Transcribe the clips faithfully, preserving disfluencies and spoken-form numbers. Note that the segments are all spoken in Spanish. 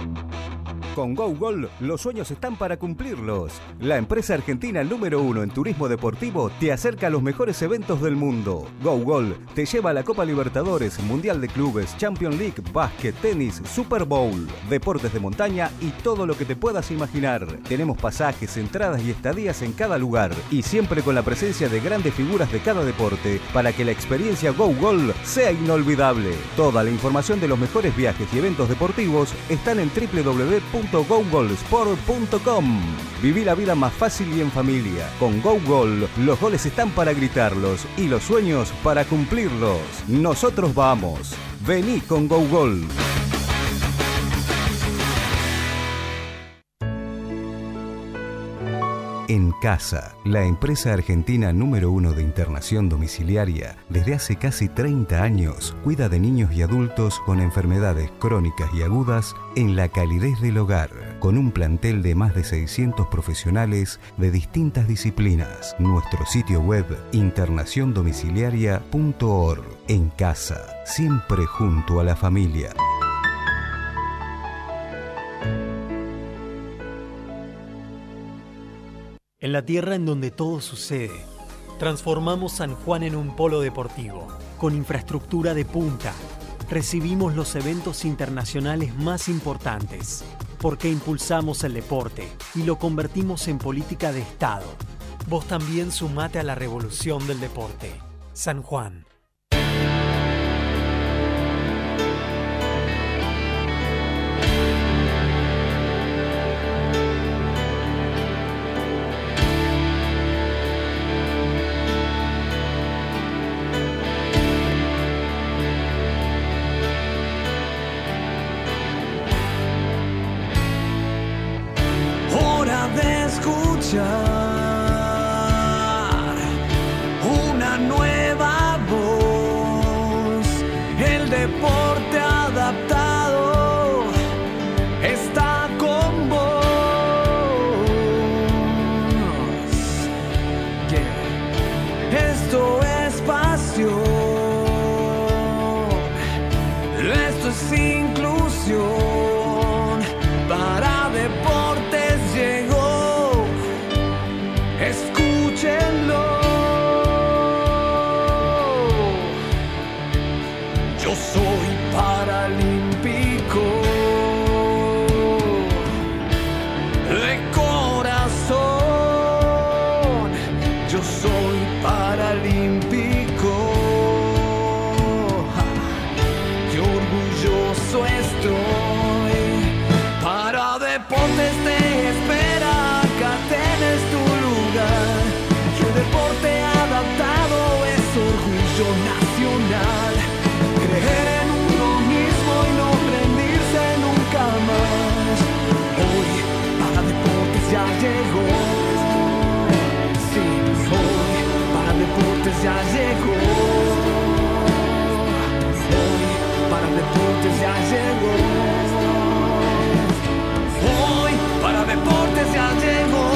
Con GoGol, los sueños están para cumplirlos. La empresa argentina número uno en turismo deportivo te acerca a los mejores eventos del mundo. GoGol te lleva a la Copa Libertadores, Mundial de Clubes, Champions League, básquet, tenis, Super Bowl, deportes de montaña y todo lo que te puedas imaginar. Tenemos pasajes, entradas y estadías en cada lugar y siempre con la presencia de grandes figuras de cada deporte para que la experiencia GoGol sea inolvidable. Toda la información de los mejores viajes y eventos deportivos están en w w w punto go gol sport punto com. Viví la vida más fácil y en familia. Con GoGol, los goles están para gritarlos y los sueños para cumplirlos. Nosotros vamos. Vení con GoGol. En Casa, la empresa argentina número uno de internación domiciliaria, desde hace casi treinta años, cuida de niños y adultos con enfermedades crónicas y agudas en la calidez del hogar, con un plantel de más de seiscientos profesionales de distintas disciplinas. Nuestro sitio web internación domiciliaria punto org. En Casa, siempre junto a la familia. En la tierra en donde todo sucede, transformamos San Juan en un polo deportivo, con infraestructura de punta. Recibimos los eventos internacionales más importantes, porque impulsamos el deporte y lo convertimos en política de Estado. Vos también sumate a la revolución del deporte. San Juan. Una nueva voz, el deporte adaptado está con vos. Yeah. Esto es pasión, esto es inclusión. Para Deportes llegó. Escúchenlo. Yo soy paralímpico de corazón. Yo soy paralímpico. Qué orgulloso estoy. Para Deportes te espera, acá tenés tu lugar. Que deporte adaptado es orgullo nacional. Creer en uno mismo y no rendirse nunca más. Hoy para Deportes ya llegó. Sí, hoy para Deportes ya llegó. Hoy para Deportes ya llegó. Hoy para Deportes ya llegó.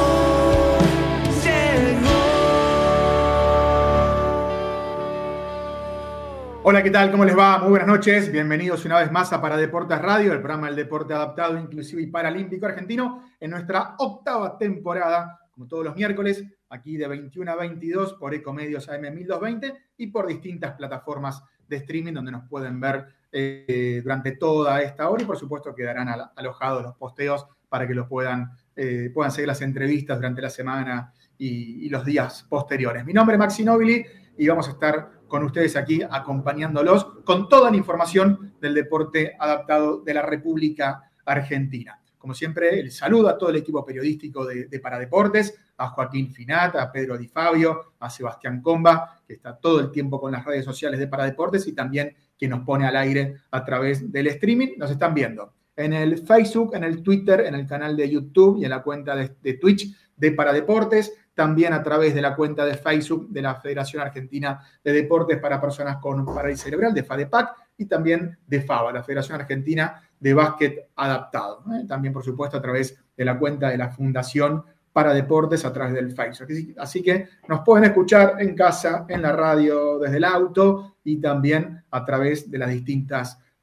Hola, ¿qué tal? ¿Cómo les va? Muy buenas noches. Bienvenidos una vez más a Para Deportes Radio, el programa del deporte adaptado, inclusivo y paralímpico argentino, en nuestra octava temporada, como todos los miércoles, aquí de veintiuno a veintidós por Ecomedios A M mil doscientos veinte y por distintas plataformas de streaming donde nos pueden ver eh, durante toda esta hora y por supuesto quedarán al- alojados los posteos para que los puedan, eh, puedan seguir las entrevistas durante la semana y, y los días posteriores. Mi nombre es Maxi Nobili y vamos a estar con ustedes aquí acompañándolos con toda la información del deporte adaptado de la República Argentina. Como siempre, el saludo a todo el equipo periodístico de, de Paradeportes, a Joaquín Finat, a Pedro Di Fabio, a Sebastián Comba, que está todo el tiempo con las redes sociales de Paradeportes y también que nos pone al aire a través del streaming. Nos están viendo en el Facebook, en el Twitter, en el canal de YouTube y en la cuenta de, de Twitch de Paradeportes. También a través de la cuenta de Facebook de la Federación Argentina de Deportes para Personas con Parálisis Cerebral, de FADEPAC, y también de FABA, la Federación Argentina de Básquet Adaptado. ¿eh? También, por supuesto, a través de la cuenta de la Fundación para Deportes a través del Facebook. Así, así que nos pueden escuchar en casa, en la radio, desde el auto y también a través de las distintas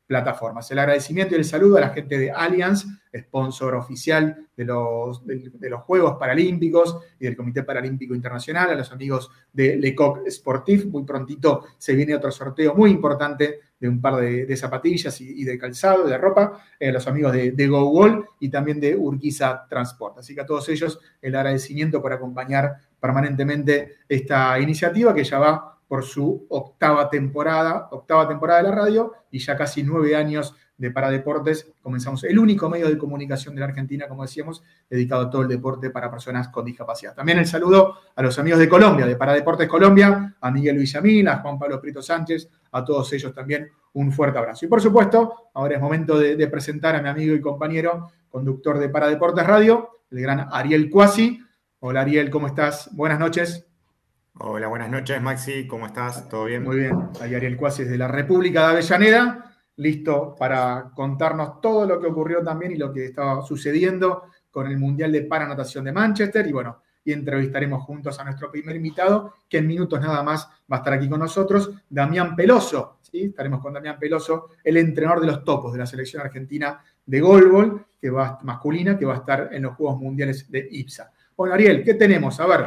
plataformas. El agradecimiento y el saludo a la gente de Allianz, sponsor oficial de los, de, de los Juegos Paralímpicos y del Comité Paralímpico Internacional, a los amigos de Lecoq Sportif. Muy prontito se viene otro sorteo muy importante de un par de, de zapatillas y, y de calzado, de ropa, eh, a los amigos de, de GoWall y también de Urquiza Transport. Así que a todos ellos el agradecimiento por acompañar permanentemente esta iniciativa que ya va por su octava temporada, octava temporada de la radio y ya casi nueve años de Paradeportes. Comenzamos el único medio de comunicación de la Argentina, como decíamos, dedicado a todo el deporte para personas con discapacidad. También el saludo a los amigos de Colombia, de Paradeportes Colombia, a Miguel Villamil, a Juan Pablo Prieto Sánchez, a todos ellos también un fuerte abrazo. Y por supuesto, ahora es momento de, de presentar a mi amigo y compañero, conductor de Paradeportes Radio, el gran Ariel Cuasi. Hola Ariel, ¿cómo estás? Buenas noches. Hola, buenas noches, Maxi, ¿cómo estás? ¿Todo bien? Muy bien, ahí Ariel Cuasi es de la República de Avellaneda, listo para contarnos todo lo que ocurrió también y lo que estaba sucediendo con el Mundial de Paranatación de Manchester. Y bueno, y entrevistaremos juntos a nuestro primer invitado, que en minutos nada más va a estar aquí con nosotros, Damián Peloso. ¿Sí? Estaremos con Damián Peloso, el entrenador de los topos de la selección argentina de goalball, que va, masculina, que va a estar en los Juegos Mundiales de I P S A. Bueno, Ariel, ¿qué tenemos? A ver,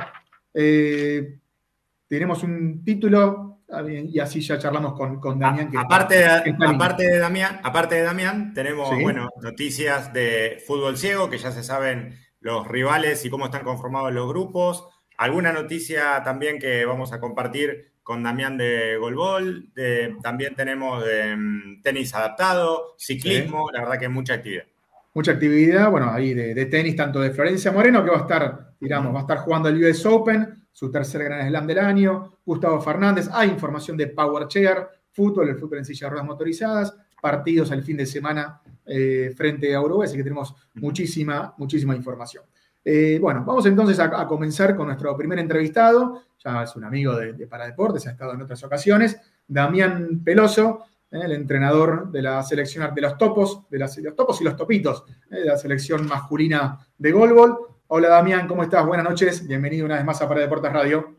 eh, tenemos un título y así ya charlamos con, con Damián. Que aparte, está, de, está aparte, de Damián, aparte de Damián, tenemos ¿Sí? bueno, noticias de fútbol ciego, que ya se saben los rivales y cómo están conformados los grupos. Alguna noticia también que vamos a compartir con Damián de goalball. De, también tenemos de um, tenis adaptado, ciclismo, sí. La verdad que mucha actividad. Mucha actividad, bueno, ahí de, de tenis, tanto de Florencia Moreno, que va a estar, digamos, va a estar jugando el U S Open, su tercer Gran Slam del año, Gustavo Fernández, hay información de Power Chair, fútbol, el fútbol en silla de ruedas motorizadas, partidos el fin de semana eh, frente a Uruguay, así que tenemos muchísima, muchísima información. Eh, bueno, vamos entonces a, a comenzar con nuestro primer entrevistado, ya es un amigo de, de Paradeportes, ha estado en otras ocasiones, Damián Peloso, el entrenador de la selección de los topos, de, la, de los topos y los topitos, de la selección masculina de goalball. Hola Damián, ¿cómo estás? Buenas noches, bienvenido una vez más a Paradeportes Radio.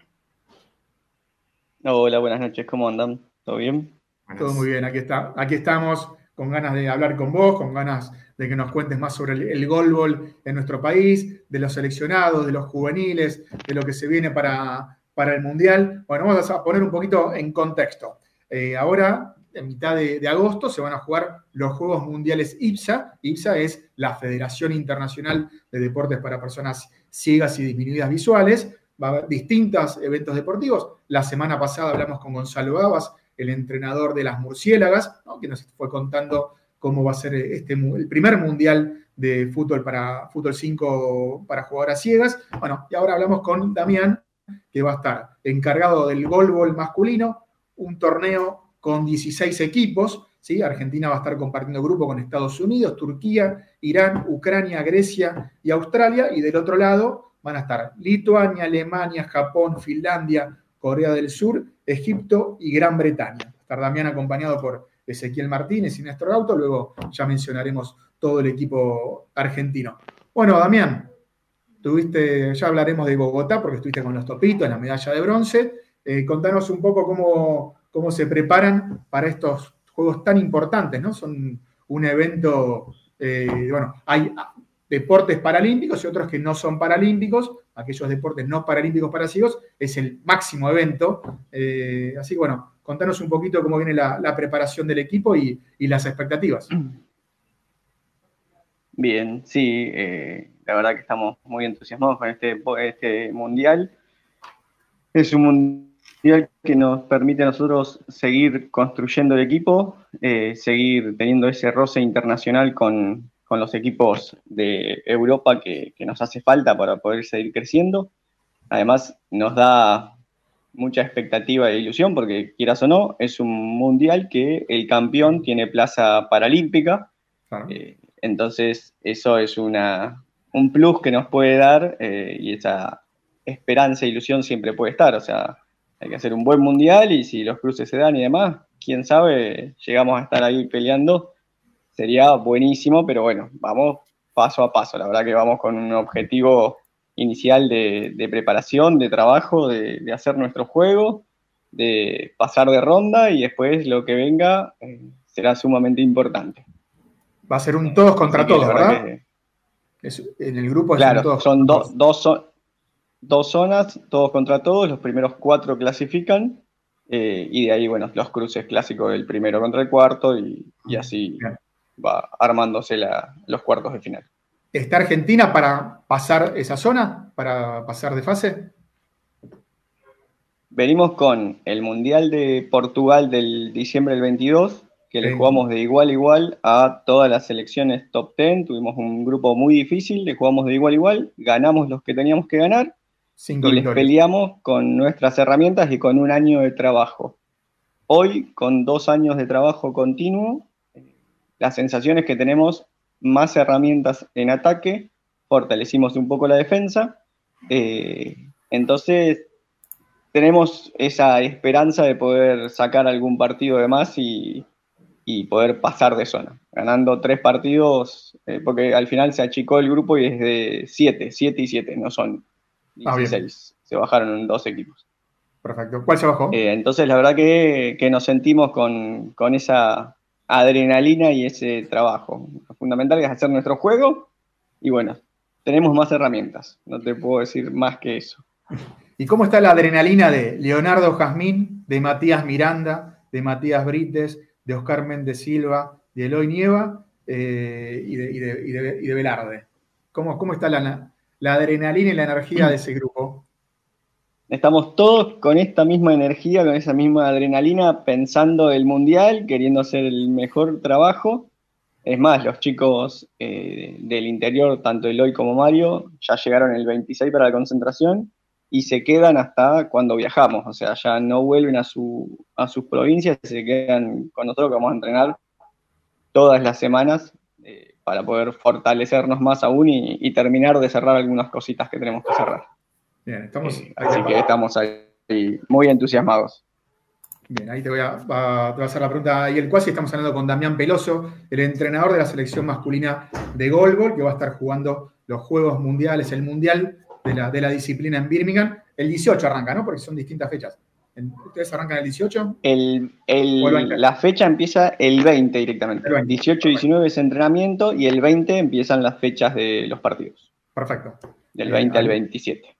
Hola, buenas noches, ¿cómo andan? ¿Todo bien? Todo muy bien, aquí, está, aquí estamos con ganas de hablar con vos, con ganas de que nos cuentes más sobre el, el goalball en nuestro país, de los seleccionados, de los juveniles, de lo que se viene para, para el Mundial. Bueno, vamos a poner un poquito en contexto. Eh, ahora, en mitad de, de agosto, se van a jugar los Juegos Mundiales I P S A. I P S A es la Federación Internacional de Deportes para Personas Ciegas y Disminuidas Visuales. Va a haber distintos eventos deportivos. La semana pasada hablamos con Gonzalo Gabas, el entrenador de las Murciélagas, ¿no? Que nos fue contando cómo va a ser este, el primer Mundial de fútbol para fútbol cinco para jugadoras ciegas. Bueno, y ahora hablamos con Damián, que va a estar encargado del goalball masculino, un torneo con dieciséis equipos, ¿sí? Argentina va a estar compartiendo grupo con Estados Unidos, Turquía, Irán, Ucrania, Grecia y Australia, y del otro lado van a estar Lituania, Alemania, Japón, Finlandia, Corea del Sur, Egipto y Gran Bretaña. Va a estar Damián acompañado por Ezequiel Martínez y Néstor Gauto, luego ya mencionaremos todo el equipo argentino. Bueno, Damián, tuviste, ya hablaremos de Bogotá porque estuviste con los topitos, la medalla de bronce. Eh, contanos un poco cómo... cómo se preparan para estos juegos tan importantes, ¿no? Son un evento, eh, bueno, hay deportes paralímpicos y otros que no son paralímpicos, aquellos deportes no paralímpicos para ciegos, es el máximo evento, eh, así que bueno, contanos un poquito cómo viene la, la preparación del equipo y, y las expectativas. Bien, sí, eh, la verdad que estamos muy entusiasmados con este, este mundial. Es un mundial que nos permite a nosotros seguir construyendo el equipo, eh, seguir teniendo ese roce internacional con, con los equipos de Europa que, que nos hace falta para poder seguir creciendo. Además, nos da mucha expectativa e ilusión porque, quieras o no, es un mundial que el campeón tiene plaza paralímpica. Ah. Eh, entonces, eso es una, un plus que nos puede dar eh, y esa esperanza e ilusión siempre puede estar, o sea, hay que hacer un buen mundial y si los cruces se dan y demás, quién sabe, llegamos a estar ahí peleando, sería buenísimo, pero bueno, vamos paso a paso. La verdad que vamos con un objetivo inicial de, de preparación, de trabajo, de, de hacer nuestro juego, de pasar de ronda y después lo que venga, eh, será sumamente importante. Va a ser un todos contra Así que todos, la verdad ¿verdad? que- Es- en el grupo es un claro, todos son contra do- todos. dos, zo- dos zonas, todos contra todos, los primeros cuatro clasifican, eh, y de ahí, bueno, los cruces clásicos del primero contra el cuarto, y, y así Bien. va armándose la- los cuartos de final. ¿Está Argentina para pasar esa zona? ¿Para pasar de fase? Venimos con el Mundial de Portugal del diciembre del veintidós, que le Sí. jugamos de igual a igual a todas las selecciones top diez, tuvimos un grupo muy difícil, le jugamos de igual a igual, ganamos los que teníamos que ganar, Cinco y les victorias. peleamos con nuestras herramientas y con un año de trabajo. Hoy, con dos años de trabajo continuo, la sensación es que tenemos más herramientas en ataque, fortalecimos un poco la defensa, eh, entonces tenemos esa esperanza de poder sacar algún partido de más y, y poder pasar de zona, ganando tres partidos, eh, porque al final se achicó el grupo y es de siete, siete y siete, no son Ah, bien. dieciséis, se bajaron en dos equipos. Perfecto. ¿Cuál se bajó? Eh, entonces la verdad que, que nos sentimos con, con esa adrenalina y ese trabajo. Lo fundamental es hacer nuestro juego y bueno, tenemos más herramientas, no te puedo decir más que eso. ¿Y cómo está la adrenalina de Leonardo Jazmín, de Matías Miranda, de Matías Brites, de Oscar Méndez Silva, de Eloy Nieva eh, y, de, y, de, y, de, y de Velarde? ¿Cómo, cómo está la, la adrenalina y la energía de ese grupo? Estamos todos con esta misma energía, con esa misma adrenalina, pensando el Mundial, queriendo hacer el mejor trabajo. Es más, los chicos eh, del interior, tanto Eloy como Mario, ya llegaron el veintiséis para la concentración y se quedan hasta cuando viajamos. O sea, ya no vuelven a, su, a sus provincias, se quedan con nosotros, que vamos a entrenar todas las semanas eh, para poder fortalecernos más aún y, y terminar de cerrar algunas cositas que tenemos que cerrar. Bien, estamos. Eh, así que estamos ahí muy entusiasmados. Bien, ahí te voy a, va- te voy a hacer la pregunta. Y el Cuasi, estamos hablando con Damián Peloso, el entrenador de la selección masculina de Goalball, que va a estar jugando los Juegos Mundiales, el Mundial de la, de la disciplina en Birmingham. El dieciocho arranca, ¿no? Porque son distintas fechas. En- ¿Ustedes arrancan el dieciocho? El, el- O el veinte. la fecha empieza el veinte directamente. El veinte. dieciocho y diecinueve es entrenamiento y el veinte empiezan las fechas de los partidos. Perfecto. Del Eh, veinte al ahí- veintisiete.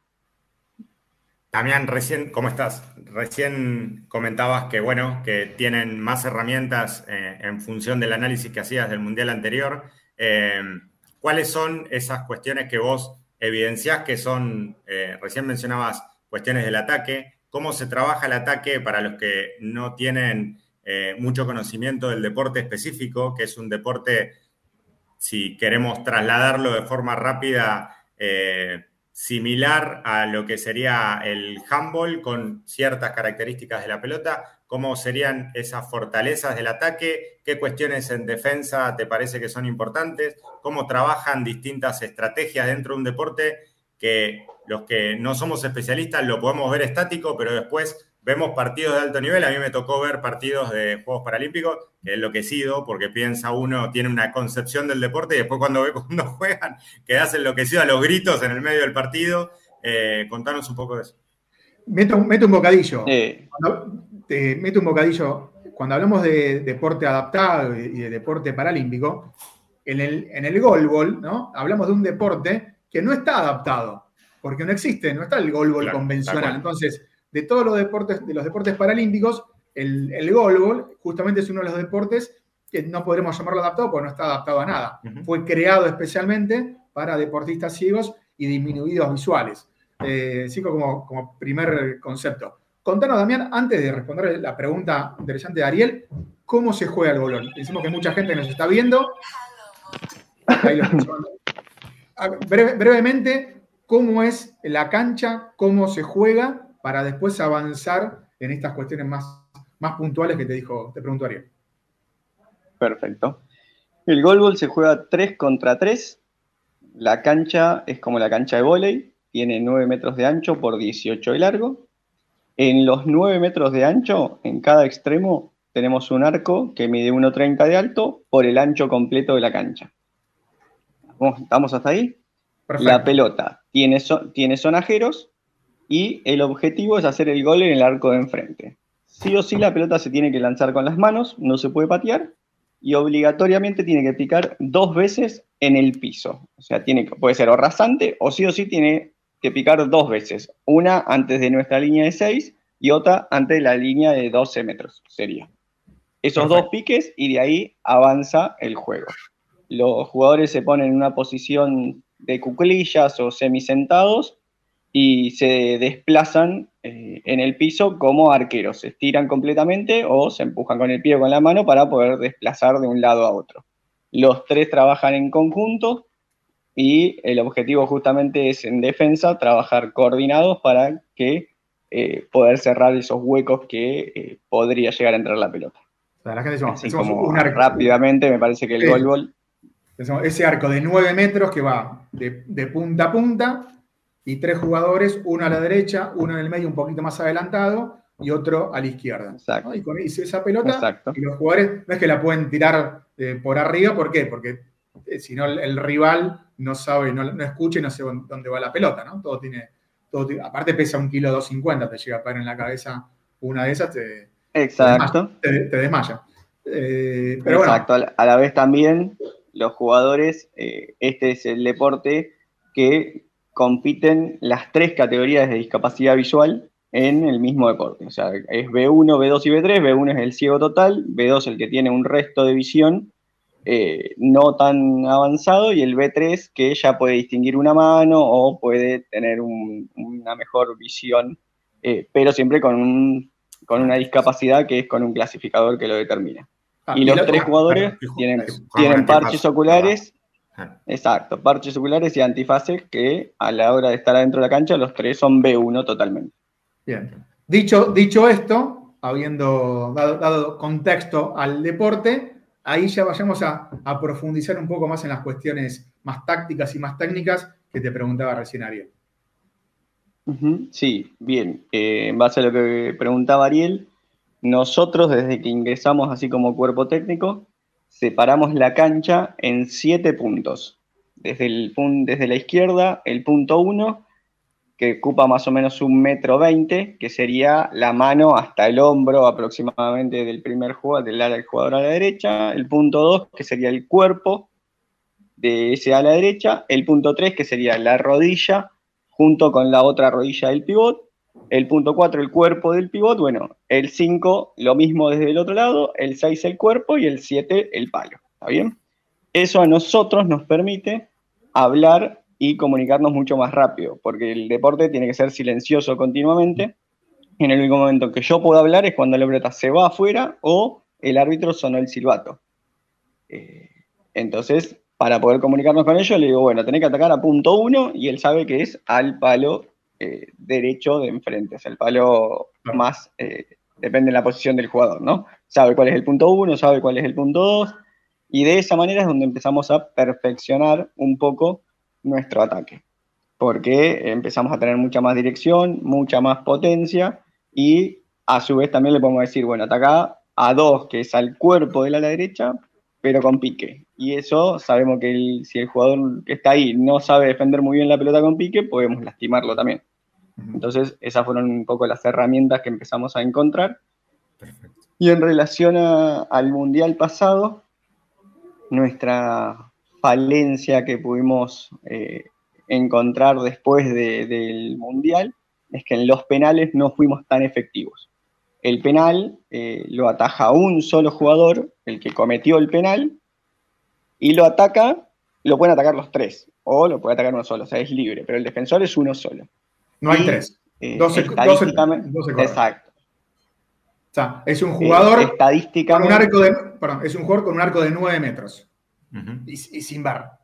Damián, recién, ¿cómo estás? Recién comentabas que, bueno, que tienen más herramientas eh, en función del análisis que hacías del Mundial anterior. Eh, ¿Cuáles son esas cuestiones que vos evidenciás que son, eh, recién mencionabas, cuestiones del ataque? ¿Cómo se trabaja el ataque para los que no tienen eh, mucho conocimiento del deporte específico, que es un deporte, si queremos trasladarlo de forma rápida, eh, similar a lo que sería el handball con ciertas características de la pelota? ¿Cómo serían esas fortalezas del ataque? ¿Qué cuestiones en defensa te parece que son importantes? ¿Cómo trabajan distintas estrategias dentro de un deporte que los que no somos especialistas lo podemos ver estático, pero después vemos partidos de alto nivel? A mí me tocó ver partidos de Juegos Paralímpicos, que he enloquecido, porque piensa uno, tiene una concepción del deporte y después cuando ve cuando juegan, quedás enloquecido a los gritos en el medio del partido. Eh, contanos un poco de eso. Meto, meto un bocadillo. Eh, Cuando, te meto un bocadillo. Cuando hablamos de deporte adaptado y de deporte paralímpico, en el, en el goalball, ¿no? Hablamos de un deporte que no está adaptado, porque no existe, no está el goalball Claro, convencional. Entonces, de todos los deportes, de los deportes paralímpicos, el, el goalball justamente es uno de los deportes que no podremos llamarlo adaptado porque no está adaptado a nada. Uh-huh. Fue creado especialmente para deportistas ciegos y disminuidos visuales. Eh, sí, como, como primer concepto. Contanos, Damián, antes de responder la pregunta interesante de Ariel, ¿cómo se juega el goalball? Decimos que mucha gente nos está viendo. Ahí lo estamos hablando. Breve, brevemente, ¿cómo es la cancha? ¿Cómo se juega? Para después avanzar en estas cuestiones más, más puntuales que te dijo, te preguntó Ariel. Perfecto. El goalball se juega tres contra tres. La cancha es como la cancha de vóley, tiene nueve metros de ancho por dieciocho de largo. En los nueve metros de ancho, en cada extremo, tenemos un arco que mide uno treinta de alto por el ancho completo de la cancha. ¿Estamos hasta ahí? Perfecto. La pelota tiene, so- tiene sonajeros y el objetivo es hacer el gol en el arco de enfrente. Sí o sí la pelota se tiene que lanzar con las manos, no se puede patear, y obligatoriamente tiene que picar dos veces en el piso. O sea, tiene, puede ser o rasante o sí o sí tiene que picar dos veces. Una antes de nuestra línea de seis y otra antes de la línea de doce metros, sería. Esos Perfecto. dos piques y de ahí avanza el juego. Los jugadores se ponen en una posición de cuclillas o semisentados y se desplazan eh, en el piso como arqueros. Se estiran completamente o se empujan con el pie o con la mano para poder desplazar de un lado a otro. Los tres trabajan en conjunto y el objetivo justamente es en defensa trabajar coordinados para que eh, poder cerrar esos huecos que eh, podría llegar a entrar la pelota. O sea, la gente decimos, Así hacemos como un arco. rápidamente me parece que el Sí. goalball, Pensamos, ese arco de nueve metros que va de, de punta a punta y tres jugadores, uno a la derecha, uno en el medio un poquito más adelantado y otro a la izquierda. Exacto. ¿No? Y con hizo esa pelota Exacto. y los jugadores no es que la pueden tirar eh, por arriba, ¿por qué? Porque eh, si no el, el rival no sabe, no, no escucha y no sé dónde va la pelota, ¿no? Todo tiene, todo tiene- aparte pesa un kilo doscientos cincuenta, te llega a caer en la cabeza una de esas, te, exacto. te desmaya. Te, te desmaya. Eh, pero bueno, Exacto, a la- a la vez también los jugadores, eh, este es el deporte que compiten las tres categorías de discapacidad visual en el mismo deporte. O sea, es B uno, B dos y B tres. B uno es el ciego total, B dos el que tiene un resto de visión eh, no tan avanzado y el B tres que ya puede distinguir una mano o puede tener un- una mejor visión, eh, pero siempre con, un, con una discapacidad que es con un clasificador que lo determina. ah, Y los lo- tres ah, jugadores Perdón, tienen, juegan tienen antifaz, parches oculares, Ah, exacto, parches oculares y antifaces que a la hora de estar adentro de la cancha los tres son B uno totalmente. Bien. Dicho, dicho esto, habiendo dado, dado contexto al deporte, ahí ya vayamos a, a profundizar un poco más en las cuestiones más tácticas y más técnicas que te preguntaba recién Ariel. Ujú, sí, bien. Eh, en base a lo que preguntaba Ariel, nosotros desde que ingresamos así como cuerpo técnico, separamos la cancha en siete puntos. Desde, el, pun- desde la izquierda, el punto uno, que ocupa más o menos un metro veinte, que sería la mano hasta el hombro aproximadamente del primer jugador, del ala del jugador a la derecha. El punto dos, que sería el cuerpo de ese a la derecha. El punto tres, que sería la rodilla junto con la otra rodilla del pivot. El punto cuatro, el cuerpo del pivot. Bueno, el cinco, lo mismo desde el otro lado. El seis, el cuerpo. Y el siete, el palo. ¿Está bien? Eso a nosotros nos permite hablar y comunicarnos mucho más rápido, porque el deporte tiene que ser silencioso continuamente. En el único momento en que yo puedo hablar es cuando la pelota se va afuera o el árbitro sonó el silbato. Eh, entonces, para poder comunicarnos con ellos, le digo, bueno, tenés que atacar a punto uno y él sabe que es al palo eh, derecho de enfrente, es el palo más, eh, depende de la posición del jugador, ¿no? Sabe cuál es el punto uno, sabe cuál es el punto dos, y de esa manera es donde empezamos a perfeccionar un poco nuestro ataque, porque empezamos a tener mucha más dirección, mucha más potencia, y a su vez también le podemos decir, bueno, ataca a dos, que es al cuerpo de la ala derecha, pero con pique. Y eso sabemos que el, si el jugador que está ahí no sabe defender muy bien la pelota con pique, podemos lastimarlo también. Entonces, esas fueron un poco las herramientas que empezamos a encontrar. perfecto. Y en relación a, al Mundial pasado, nuestra falencia que pudimos eh, encontrar después de, del Mundial es que en los penales no fuimos tan efectivos. El penal eh, lo ataja un solo jugador, el que cometió el penal, y lo ataca, lo pueden atacar los tres, o lo puede atacar uno solo, o sea, es libre, pero el defensor es uno solo. No hay Y, tres. Eh, doce, estadísticamente, doce, doce exacto. O sea, es un jugador Eh, con un estadísticamente, arco de, perdón, es un jugador con un arco de nueve metros Ujú. y, y sin bar.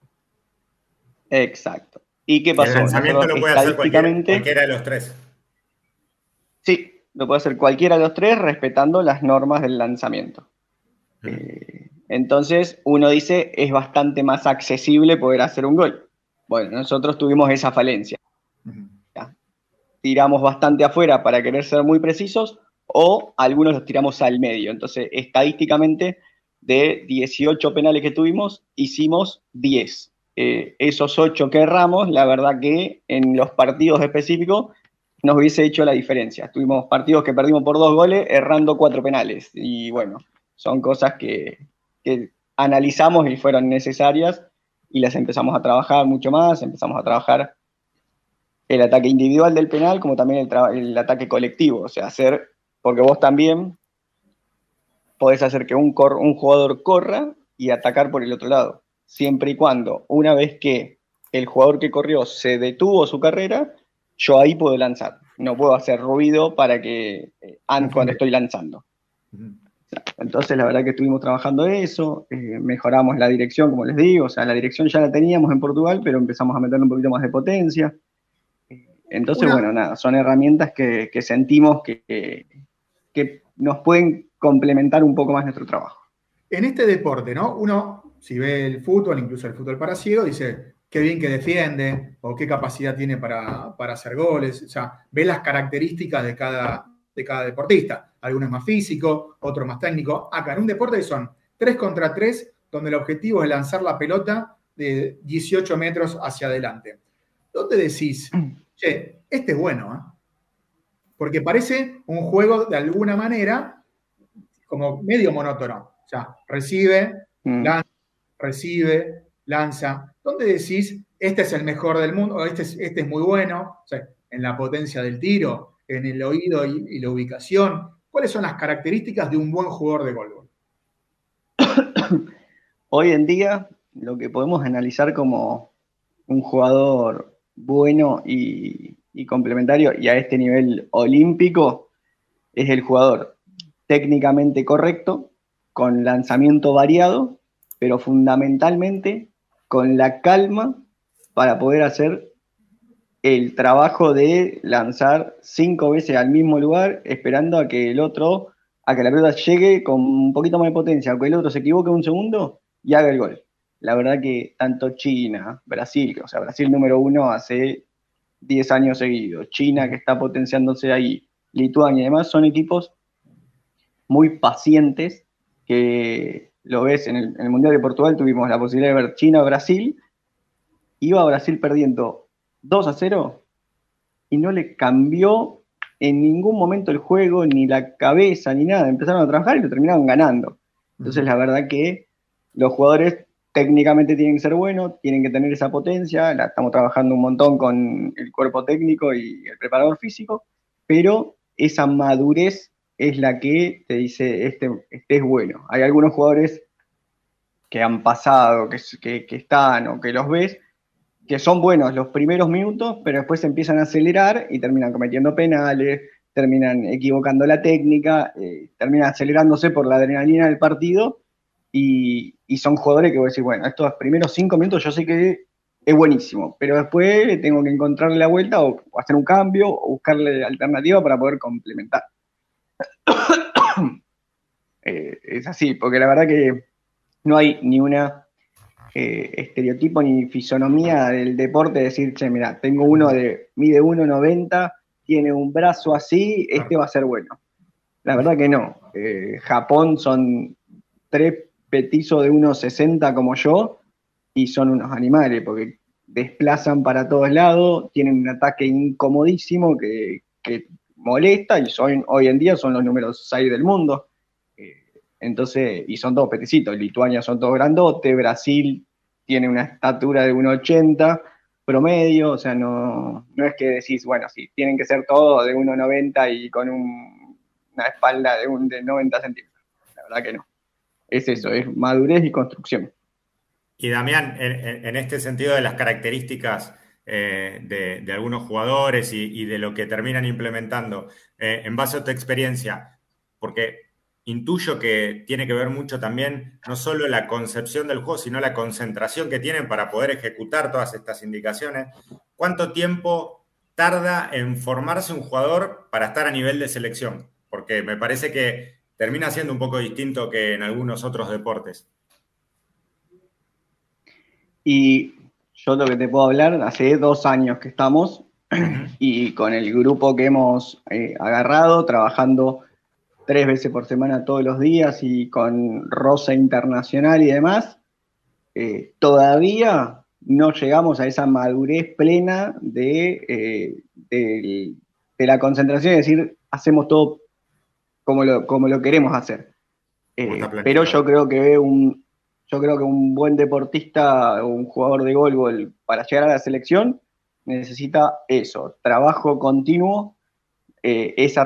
exacto. ¿Y qué El pasó? lanzamiento Nosotros lo puede hacer cualquiera, estadísticamente, cualquiera de los tres. sí, lo puede hacer cualquiera de los tres respetando las normas del lanzamiento. Ujú. Eh, entonces, uno dice, es bastante más accesible poder hacer un gol. Bueno, nosotros tuvimos esa falencia. Ujú. ¿Ya? Tiramos bastante afuera para querer ser muy precisos, o algunos los tiramos al medio. Entonces, estadísticamente, de dieciocho penales que tuvimos, hicimos diez. Eh, esos ocho que erramos, la verdad que en los partidos específicos nos hubiese hecho la diferencia. Tuvimos partidos que perdimos por dos goles, errando cuatro penales. Y bueno, son cosas que, que analizamos y fueron necesarias y las empezamos a trabajar mucho más, empezamos a trabajar el ataque individual del penal como también el, tra- el ataque colectivo, o sea, hacer, porque vos también podés hacer que un, cor- un jugador corra y atacar por el otro lado, siempre y cuando, una vez que el jugador que corrió se detuvo su carrera, yo ahí puedo lanzar, no puedo hacer ruido para que eh, an- cuando estoy lanzando. Entonces la verdad que estuvimos trabajando eso, eh, mejoramos la dirección, como les digo, o sea, la dirección ya la teníamos en Portugal, pero empezamos a meterle un poquito más de potencia. Entonces, Una- bueno, nada, son herramientas que, que sentimos que, que, que nos pueden complementar un poco más nuestro trabajo. En este deporte, ¿no? Uno, si ve el fútbol, incluso el fútbol para ciegos, dice qué bien que defiende o qué capacidad tiene para, para hacer goles. O sea, ve las características de cada, de cada deportista. Algunos más físico, otros más técnico. Acá en un deporte son tres contra tres, donde el objetivo es lanzar la pelota de dieciocho metros hacia adelante. ¿Dónde decís, che, este es bueno, ¿eh? Porque parece un juego de alguna manera como medio monótono. O sea, recibe, Mm. lanza, recibe, lanza. ¿Dónde decís, este es el mejor del mundo, o este es, este es muy bueno? O sea, en la potencia del tiro, en el oído y, y la ubicación. ¿Cuáles son las características de un buen jugador de golf? Hoy en día, lo que podemos analizar como un jugador bueno y, y complementario, y a este nivel olímpico, es el jugador técnicamente correcto, con lanzamiento variado, pero fundamentalmente con la calma para poder hacer el trabajo de lanzar cinco veces al mismo lugar, esperando a que el otro, a que la pelota llegue con un poquito más de potencia, o que el otro se equivoque un segundo y haga el gol. La verdad que tanto China, Brasil, o sea, Brasil número uno hace diez años seguidos, China que está potenciándose ahí, Lituania y demás, son equipos muy pacientes, que lo ves en el, en el Mundial de Portugal, tuvimos la posibilidad de ver China o Brasil, iba Brasil perdiendo dos a cero y no le cambió en ningún momento el juego, ni la cabeza, ni nada, empezaron a trabajar y lo terminaron ganando. Entonces la verdad que los jugadores técnicamente tienen que ser buenos, tienen que tener esa potencia, la estamos trabajando un montón con el cuerpo técnico y el preparador físico, pero esa madurez es la que te dice, este, este es bueno. Hay algunos jugadores que han pasado, que, que, que están o que los ves, que son buenos los primeros minutos, pero después empiezan a acelerar y terminan cometiendo penales, terminan equivocando la técnica, eh, terminan acelerándose por la adrenalina del partido, y, y son jugadores que voy a decir, bueno, estos primeros cinco minutos yo sé que es buenísimo, pero después tengo que encontrarle la vuelta o, o hacer un cambio o buscarle alternativa para poder complementar. eh, es así, porque la verdad que no hay ni una eh, estereotipo ni fisonomía del deporte de decir, che, mira, tengo uno de mide uno noventa, tiene un brazo así, este va a ser bueno. La verdad que no. Eh, Japón son tres petizos de uno sesenta como yo y son unos animales porque desplazan para todos lados, tienen un ataque incomodísimo que, que molesta y son, hoy en día son los números seis del mundo. Eh, entonces, y son todos peticitos. Lituania son todos grandotes, Brasil tiene una estatura de uno ochenta promedio, o sea, no, no es que decís, bueno, sí, tienen que ser todos de uno noventa y con un, una espalda de, un, de noventa centímetros. La verdad que no. Es eso, es madurez y construcción. Y Damián, en, en este sentido de las características eh, de, de algunos jugadores y, y de lo que terminan implementando, eh, en base a tu experiencia, porque intuyo que tiene que ver mucho también no solo la concepción del juego, sino la concentración que tienen para poder ejecutar todas estas indicaciones. ¿Cuánto tiempo tarda en formarse un jugador para estar a nivel de selección? Porque me parece que termina siendo un poco distinto que en algunos otros deportes. Y yo lo que te puedo hablar, hace dos años que estamos, uh-huh. y con el grupo que hemos eh, agarrado, trabajando tres veces por semana todos los días y con rosa internacional y demás, eh, todavía no llegamos a esa madurez plena de, eh, de, de la concentración y decir, hacemos todo como lo, como lo queremos hacer. Eh, pero yo creo que un, yo creo que un buen deportista, un jugador de goalball, para llegar a la selección, necesita eso, trabajo continuo, eh, esa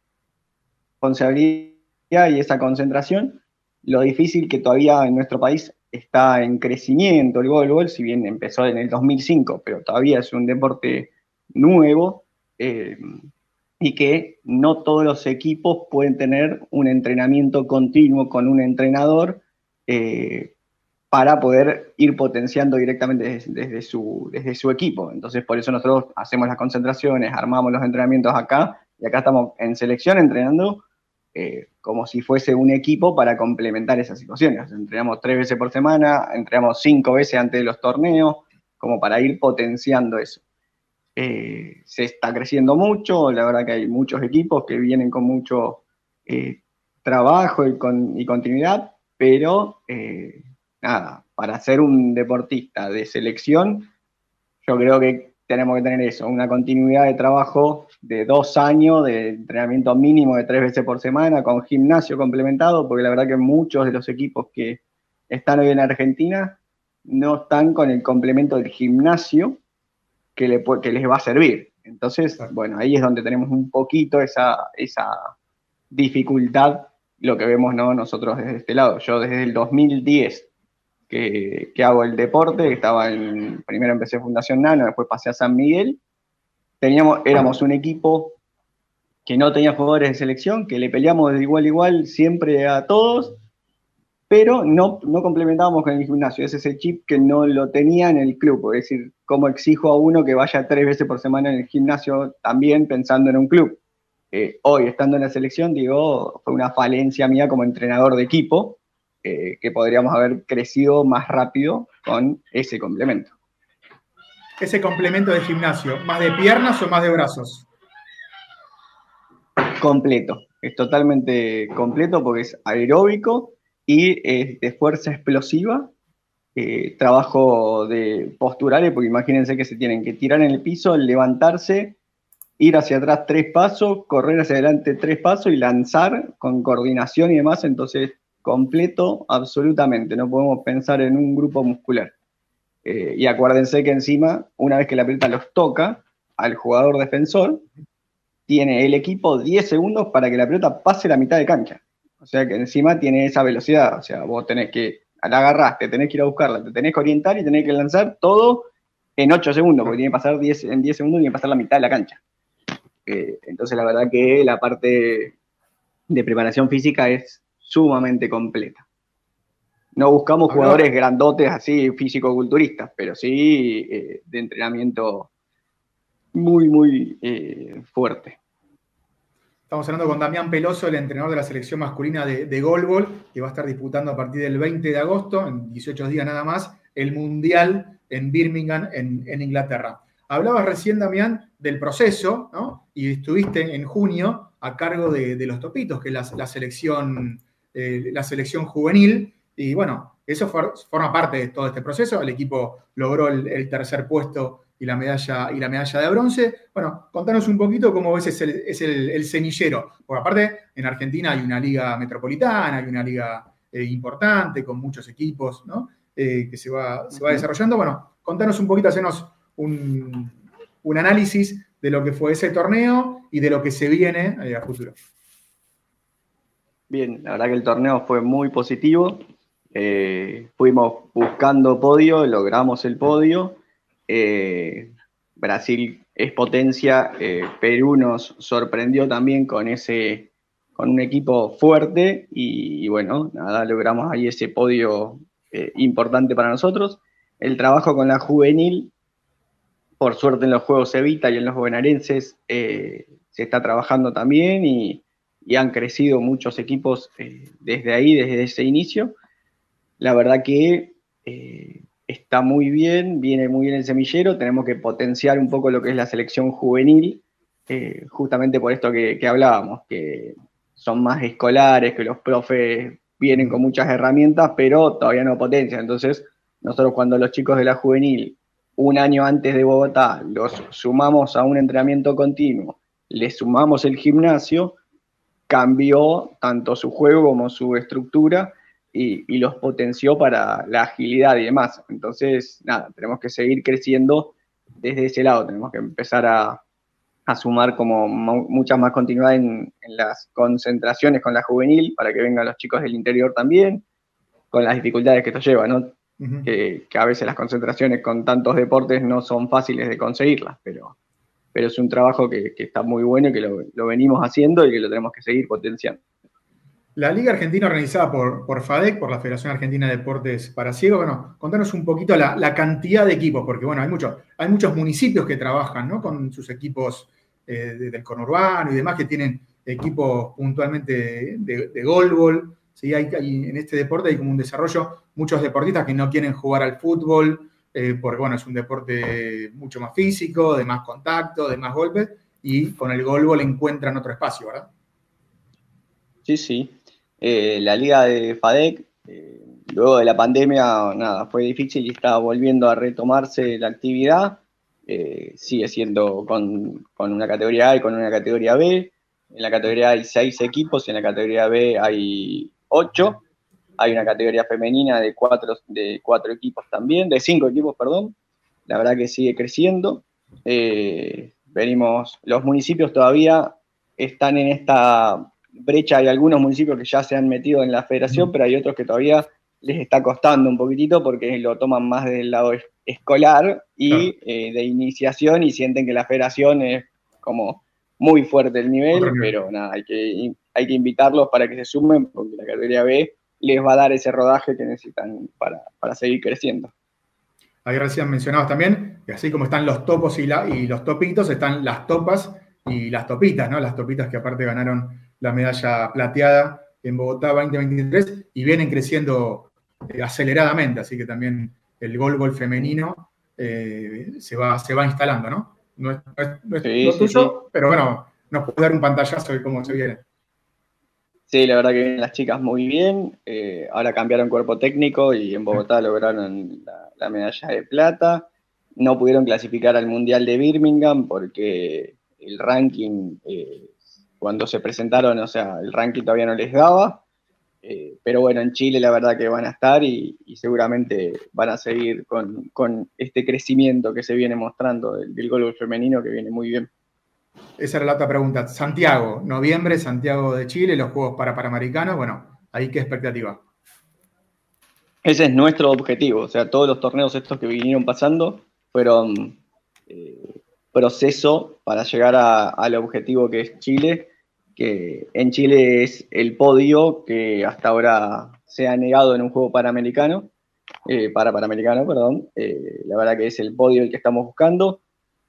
responsabilidad y esa concentración. Lo difícil que todavía en nuestro país está en crecimiento el voleibol, si bien empezó en el dos mil cinco, pero todavía es un deporte nuevo, eh, y que no todos los equipos pueden tener un entrenamiento continuo con un entrenador eh, para poder ir potenciando directamente desde, desde, su, desde su equipo. Entonces, por eso nosotros hacemos las concentraciones, armamos los entrenamientos acá, y acá estamos en selección entrenando eh, como si fuese un equipo para complementar esas situaciones. Entrenamos tres veces por semana, entrenamos cinco veces antes de los torneos, como para ir potenciando eso. Eh, se está creciendo mucho, la verdad que hay muchos equipos que vienen con mucho eh, trabajo y, con, y continuidad, pero eh, nada, para ser un deportista de selección, yo creo que tenemos que tener eso, una continuidad de trabajo de dos años, de entrenamiento mínimo de tres veces por semana, con gimnasio complementado, porque la verdad que muchos de los equipos que están hoy en Argentina no están con el complemento del gimnasio que, le, que les va a servir. Entonces, bueno, ahí es donde tenemos un poquito esa, esa dificultad, lo que vemos, ¿no?, nosotros desde este lado. Yo desde el dos mil diez que, que hago el deporte, estaba en, primero empecé en Fundación Nano, después pasé a San Miguel, teníamos, éramos un equipo que no tenía jugadores de selección, que le peleamos de igual a igual siempre a todos, pero no, no complementábamos con el gimnasio. Ese es el chip que no lo tenía en el club, es decir, cómo exijo a uno que vaya tres veces por semana en el gimnasio también pensando en un club. Eh, hoy, estando en la selección, digo, fue una falencia mía como entrenador de equipo, eh, que podríamos haber crecido más rápido con ese complemento. Ese complemento de gimnasio, ¿más de piernas o más de brazos? Completo, es totalmente completo porque es aeróbico y es de fuerza explosiva, eh, trabajo de posturales, porque imagínense que se tienen que tirar en el piso, levantarse, ir hacia atrás tres pasos, correr hacia adelante tres pasos y lanzar con coordinación y demás. Entonces, completo absolutamente, no podemos pensar en un grupo muscular. Eh, y acuérdense que encima, una vez que la pelota los toca al jugador defensor, tiene el equipo diez segundos para que la pelota pase la mitad de cancha. O sea que encima tiene esa velocidad, o sea, vos tenés que, la agarraste, tenés que ir a buscarla, te tenés que orientar y tenés que lanzar todo en ocho segundos, porque tiene que pasar diez, en diez segundos tiene que pasar la mitad de la cancha. Eh, entonces la verdad que la parte de preparación física es sumamente completa. No buscamos jugadores grandotes así, físico-culturistas, pero sí eh, de entrenamiento muy, muy eh, fuerte. Estamos hablando con Damián Peloso, el entrenador de la selección masculina de, de goalball, que va a estar disputando a partir del veinte de agosto, en dieciocho días nada más, el Mundial en Birmingham, en, en Inglaterra. Hablabas recién, Damián, del proceso, ¿no? Y estuviste en junio a cargo de, de los Topitos, que es la, la, selección, eh, la selección juvenil. Y bueno, eso for, forma parte de todo este proceso. El equipo logró el, el tercer puesto y la medalla, y la medalla de bronce. Bueno, contanos un poquito cómo ves es el, es el, el semillero. Porque aparte, en Argentina hay una liga metropolitana, hay una liga eh, importante, con muchos equipos, ¿no? Eh, que se va, se va desarrollando. Bueno, contanos un poquito, hacernos un, un análisis de lo que fue ese torneo y de lo que se viene eh, a futuro. Bien, la verdad que el torneo fue muy positivo. Eh, fuimos buscando podio, logramos el podio. Eh, Brasil es potencia, eh, Perú nos sorprendió también con ese, con un equipo fuerte y, y bueno, nada, logramos ahí ese podio eh, importante para nosotros. El trabajo con la juvenil, por suerte en los Juegos Evita y en los bonaerenses eh, se está trabajando también y, y han crecido muchos equipos eh, desde ahí, desde ese inicio. La verdad que eh, está muy bien, viene muy bien el semillero, tenemos que potenciar un poco lo que es la selección juvenil, eh, justamente por esto que, que hablábamos, que son más escolares, que los profes vienen con muchas herramientas, pero todavía no potencian. Entonces, nosotros cuando los chicos de la juvenil, un año antes de Bogotá, los sumamos a un entrenamiento continuo, les sumamos el gimnasio, cambió tanto su juego como su estructura y, y los potenció para la agilidad y demás. Entonces, nada, tenemos que seguir creciendo desde ese lado, tenemos que empezar a, a sumar como mucha más continuidad en, en las concentraciones con la juvenil, para que vengan los chicos del interior también, con las dificultades que esto lleva, ¿no? Uh-huh. que, que a veces las concentraciones con tantos deportes no son fáciles de conseguirlas, pero, pero es un trabajo que, que está muy bueno y que lo, lo venimos haciendo y que lo tenemos que seguir potenciando. La Liga Argentina, organizada por, por FADEC, por la Federación Argentina de Deportes para Ciegos, bueno, contanos un poquito la, la cantidad de equipos, porque bueno, hay, mucho, hay muchos municipios que trabajan, ¿no? Con sus equipos eh, de, del conurbano y demás, que tienen equipos puntualmente de, de goalball. ¿Sí? Hay, hay, en este deporte hay como un desarrollo, muchos deportistas que no quieren jugar al fútbol, eh, porque bueno, es un deporte mucho más físico, de más contacto, de más golpes, y con el goalball encuentran otro espacio, ¿verdad? Sí, sí. Eh, la liga de FADEC, eh, luego de la pandemia, nada, fue difícil y está volviendo a retomarse la actividad. Eh, sigue siendo con, con una categoría A y con una categoría B. En la categoría A hay seis equipos, en la categoría B hay ocho. Hay una categoría femenina de cuatro, de cuatro equipos también, de cinco equipos, perdón. La verdad que sigue creciendo. Eh, venimos, los municipios todavía están en esta brecha. Hay algunos municipios que ya se han metido en la federación, pero hay otros que todavía les está costando un poquitito porque lo toman más del lado escolar y claro. eh, de iniciación, y sienten que la federación es como muy fuerte el nivel, nivel. pero nada, hay que, hay que invitarlos para que se sumen, porque la categoría B les va a dar ese rodaje que necesitan para, para seguir creciendo. Ahí recién mencionabas también que así como están los topos y, la, y los topitos, están las topas y las topitas, ¿no? Las topitas que aparte ganaron la medalla plateada en Bogotá veinte veintitrés y vienen creciendo eh, aceleradamente, así que también el goalball femenino eh, se, va, se va instalando, ¿no? No es, no es, no es sí, lo sí, tuyo, sí. pero bueno, nos puede dar un pantallazo de cómo se viene. Sí, la verdad que vienen las chicas muy bien, eh, ahora cambiaron cuerpo técnico y en Bogotá lograron la, la medalla de plata. No pudieron clasificar al Mundial de Birmingham porque el ranking, eh, cuando se presentaron, o sea, el ranking todavía no les daba, eh, pero bueno, en Chile la verdad que van a estar y, y seguramente van a seguir con, con este crecimiento que se viene mostrando del, del goalball femenino, que viene muy bien. Esa era la otra pregunta. Santiago, noviembre, Santiago de Chile, los Juegos para Panamericanos, bueno, ¿ahí qué expectativa? Ese es nuestro objetivo, o sea, todos los torneos estos que vinieron pasando fueron eh, proceso para llegar a, al objetivo que es Chile, que en Chile es el podio que hasta ahora se ha negado en un juego panamericano, eh, para panamericano, perdón, eh, la verdad que es el podio el que estamos buscando.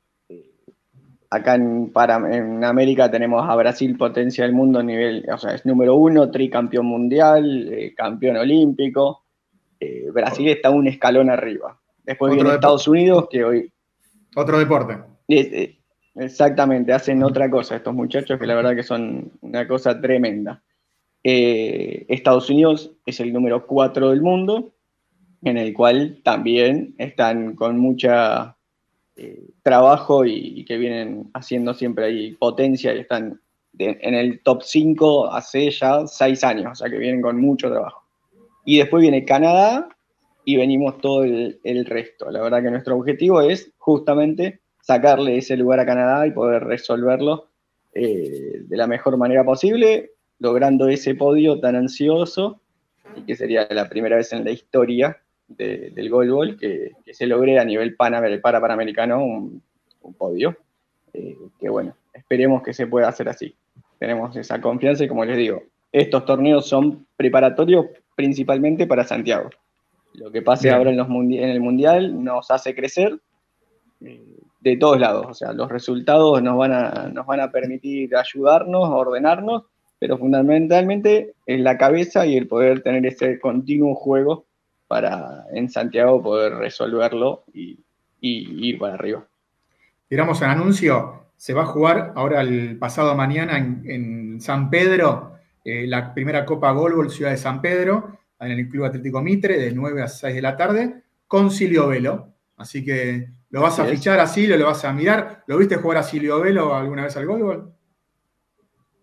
Acá en, para, en América tenemos a Brasil, potencia del mundo a nivel, o sea, es número uno, tricampeón mundial, eh, campeón olímpico. Eh, Brasil está un escalón arriba. Después viene Estados Unidos, que hoy... Otro deporte. Eh, exactamente, hacen otra cosa estos muchachos, que la verdad que son una cosa tremenda. Eh, Estados Unidos es el número cuatro del mundo, en el cual también están con mucha... Eh, trabajo y, y que vienen haciendo siempre ahí potencia y están de, en el top cinco hace ya seis años, o sea que vienen con mucho trabajo. Y después viene Canadá y venimos todo el, el resto. La verdad que nuestro objetivo es justamente sacarle ese lugar a Canadá y poder resolverlo eh, de la mejor manera posible, logrando ese podio tan ansioso, y que sería la primera vez en la historia De, del goalball que, que se logre a nivel para, para panamericano un, un podio, eh, que bueno, esperemos que se pueda hacer así. Tenemos esa confianza y como les digo, estos torneos son preparatorios principalmente para Santiago. Lo que pase Bien. ahora en, los mundi- en el Mundial nos hace crecer eh, de todos lados, o sea, los resultados nos van, a, nos van a permitir ayudarnos, ordenarnos, pero fundamentalmente es la cabeza y el poder tener ese continuo juego para en Santiago poder resolverlo y, y ir para arriba. Tiramos el anuncio, se va a jugar ahora el pasado mañana en, en San Pedro, eh, la primera Copa Goalball Ciudad de San Pedro, en el Club Atlético Mitre, de nueve a seis de la tarde, con Silvio Velo. Así que lo vas a fichar a Silvio, lo vas a mirar. ¿Lo viste jugar a Silvio Velo alguna vez al goalball?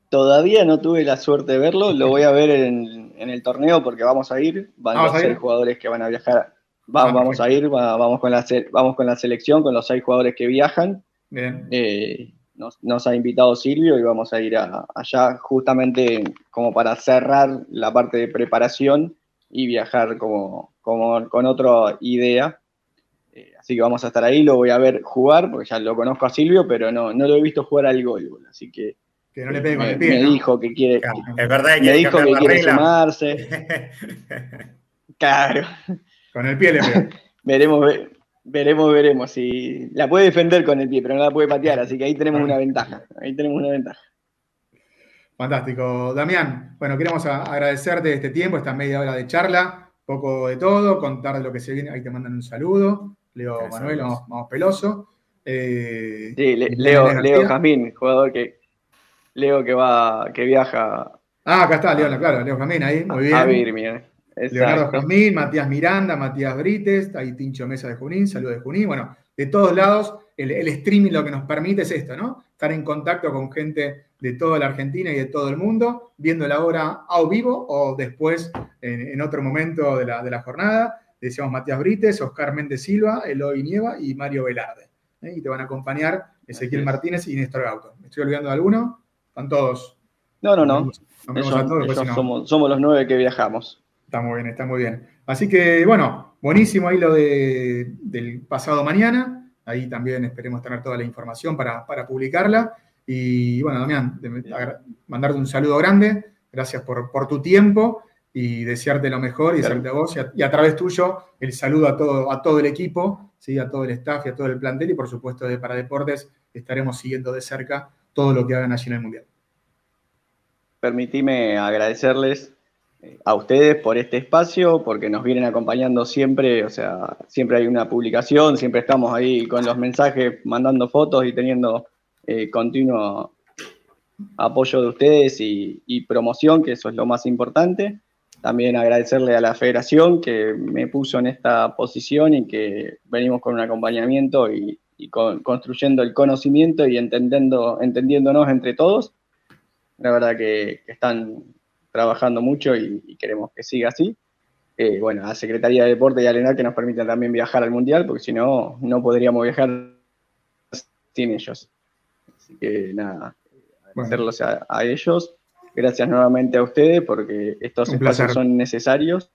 todavía no tuve la suerte de verlo, lo voy a ver en, en el torneo porque vamos a ir, van ¿Vamos los a ir? seis jugadores que van a viajar, va, Ah, vamos a ir, va- vamos, con la, se- vamos con la selección, con los seis jugadores que viajan. Bien. Eh, nos, nos ha invitado Silvio y vamos a ir a- allá justamente como para cerrar la parte de preparación y viajar como, como con otra idea. Eh, así que vamos a estar ahí, lo voy a ver jugar, porque ya lo conozco a Silvio, pero no, no lo he visto jugar al gol, así que Que no le pegue con me, el pie, me ¿no? dijo que quiere, Claro, es verdad que me quiere dijo cambiar que la quiere regla. sumarse. Claro, Con el pie le pega. veremos, ve- veremos, veremos. Si la puede defender con el pie, pero no la puede patear, así que ahí tenemos una ventaja. Ahí tenemos una ventaja. Fantástico. Damián, bueno, queremos a- agradecerte este tiempo, esta media hora de charla, poco de todo, contar de lo que se viene. Ahí te mandan un saludo. Leo Gracias, Manuel, Luis. vamos, vamos Peloso. Eh, Sí, Le- Nene Leo, García. Leo Jazmín, jugador que Leo que va, que viaja Ah, acá está, Leo, claro, Leo Jamín ahí, muy bien. a Birmingham. Leonardo Exacto. Jazmín, Matías Miranda, Matías Brites, ahí Tincho Mesa de Junín, saludos de Junín. Bueno, de todos lados, el, el streaming lo que nos permite es esto, ¿no? Estar en contacto con gente de toda la Argentina y de todo el mundo, viendo la obra a vivo o después en, en otro momento de la, de la jornada. Decíamos Matías Brites, Oscar Méndez Silva, Eloy Nieva y Mario Velarde. ¿eh? Y te van a acompañar Ezequiel Así es. Martínez y Néstor Gauto. ¿Me estoy olvidando de alguno? Están todos. No, no, Nos no. vemos- nos vemos Ellos, a todos, después ellos si no- somos, somos los nueve que viajamos. Está muy bien, está muy bien. Así que, bueno, buenísimo ahí lo de, del pasado mañana. Ahí también esperemos tener toda la información para, para publicarla. Y bueno, Damián, de- agra- mandarte un saludo grande. Gracias por, por tu tiempo y desearte lo mejor y desearte a vos. Y a, y a través tuyo, el saludo a todo, a todo el equipo, ¿sí? A todo el staff y a todo el plantel. Y por supuesto, de Paradeportes estaremos siguiendo de cerca todo lo que hagan allí en el Mundial. Permitime agradecerles eh, a ustedes por este espacio, porque nos vienen acompañando siempre, o sea, siempre hay una publicación, siempre estamos ahí con los mensajes, mandando fotos y teniendo eh, continuo apoyo de ustedes y, y promoción, que eso es lo más importante. También agradecerle a la federación que me puso en esta posición y que venimos con un acompañamiento y, y con, construyendo el conocimiento y entendiendo, entendiéndonos entre todos. La verdad que, que están trabajando mucho y, y queremos que siga así. Eh, bueno, a Secretaría de Deporte y a Lenar que nos permiten también viajar al Mundial, porque si no, no podríamos viajar sin ellos. Así que nada, agradecerlos a, a ellos. Gracias nuevamente a ustedes, porque estos Un espacios placer. son necesarios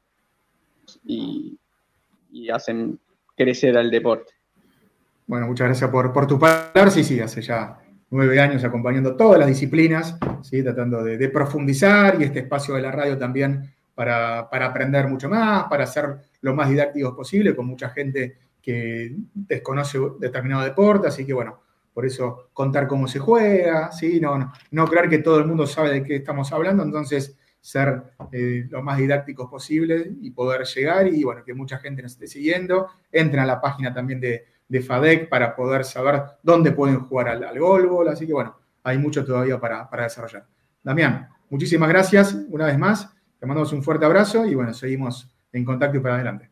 y, y hacen crecer al deporte. Bueno, muchas gracias por, por tu palabra. Sí, sí, hace ya nueve años acompañando todas las disciplinas, ¿sí? Tratando de, de profundizar y este espacio de la radio también para, para aprender mucho más, para ser lo más didácticos posible, con mucha gente que desconoce determinado deporte, así que bueno, por eso contar cómo se juega, ¿sí? No, no, no creer que todo el mundo sabe de qué estamos hablando, entonces ser eh, lo más didácticos posible y poder llegar y bueno, que mucha gente nos esté siguiendo. Entren a la página también de, de FADEC para poder saber dónde pueden jugar al, al golbol, así que bueno, hay mucho todavía para, para desarrollar. Damián, muchísimas gracias una vez más, te mandamos un fuerte abrazo y bueno, seguimos en contacto y para adelante.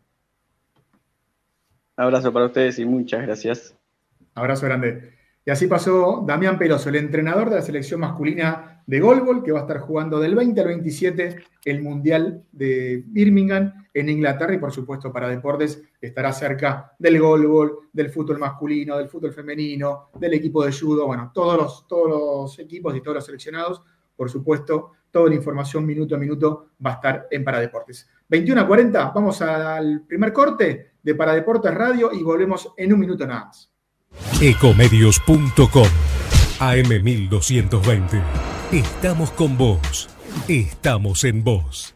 Un abrazo para ustedes y muchas gracias. Abrazo grande. Y así pasó Damián Peloso, el entrenador de la selección masculina de golbol, que va a estar jugando del veinte al veintisiete el Mundial de Birmingham en Inglaterra y por supuesto para deportes estará cerca del golbol, del fútbol masculino, del fútbol femenino, del equipo de judo, bueno, todos los, todos los equipos y todos los seleccionados, por supuesto, toda la información minuto a minuto va a estar en Paradeportes. veintiuno a cuarenta, vamos al primer corte de Paradeportes Radio y volvemos en un minuto nada más. Ecomedios punto com A M mil doscientos veinte. Estamos con vos. Estamos en vos.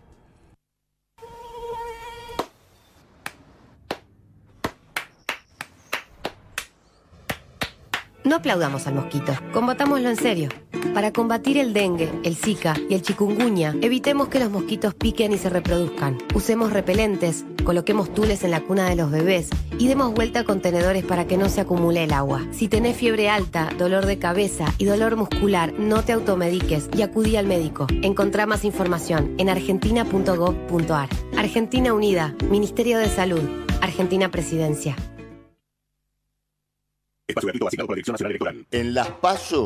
No aplaudamos al mosquito, combatámoslo en serio. Para combatir el dengue, el zika y el chikungunya, evitemos que los mosquitos piquen y se reproduzcan. Usemos repelentes, coloquemos tules en la cuna de los bebés y demos vuelta a contenedores para que no se acumule el agua. Si tenés fiebre alta, dolor de cabeza y dolor muscular, no te automediques y acudí al médico. Encontrá más información en argentina punto gov punto ar. Argentina Unida, Ministerio de Salud, Argentina Presidencia. Espacio gratuito asignado por la Dirección Nacional Electoral. En las PASO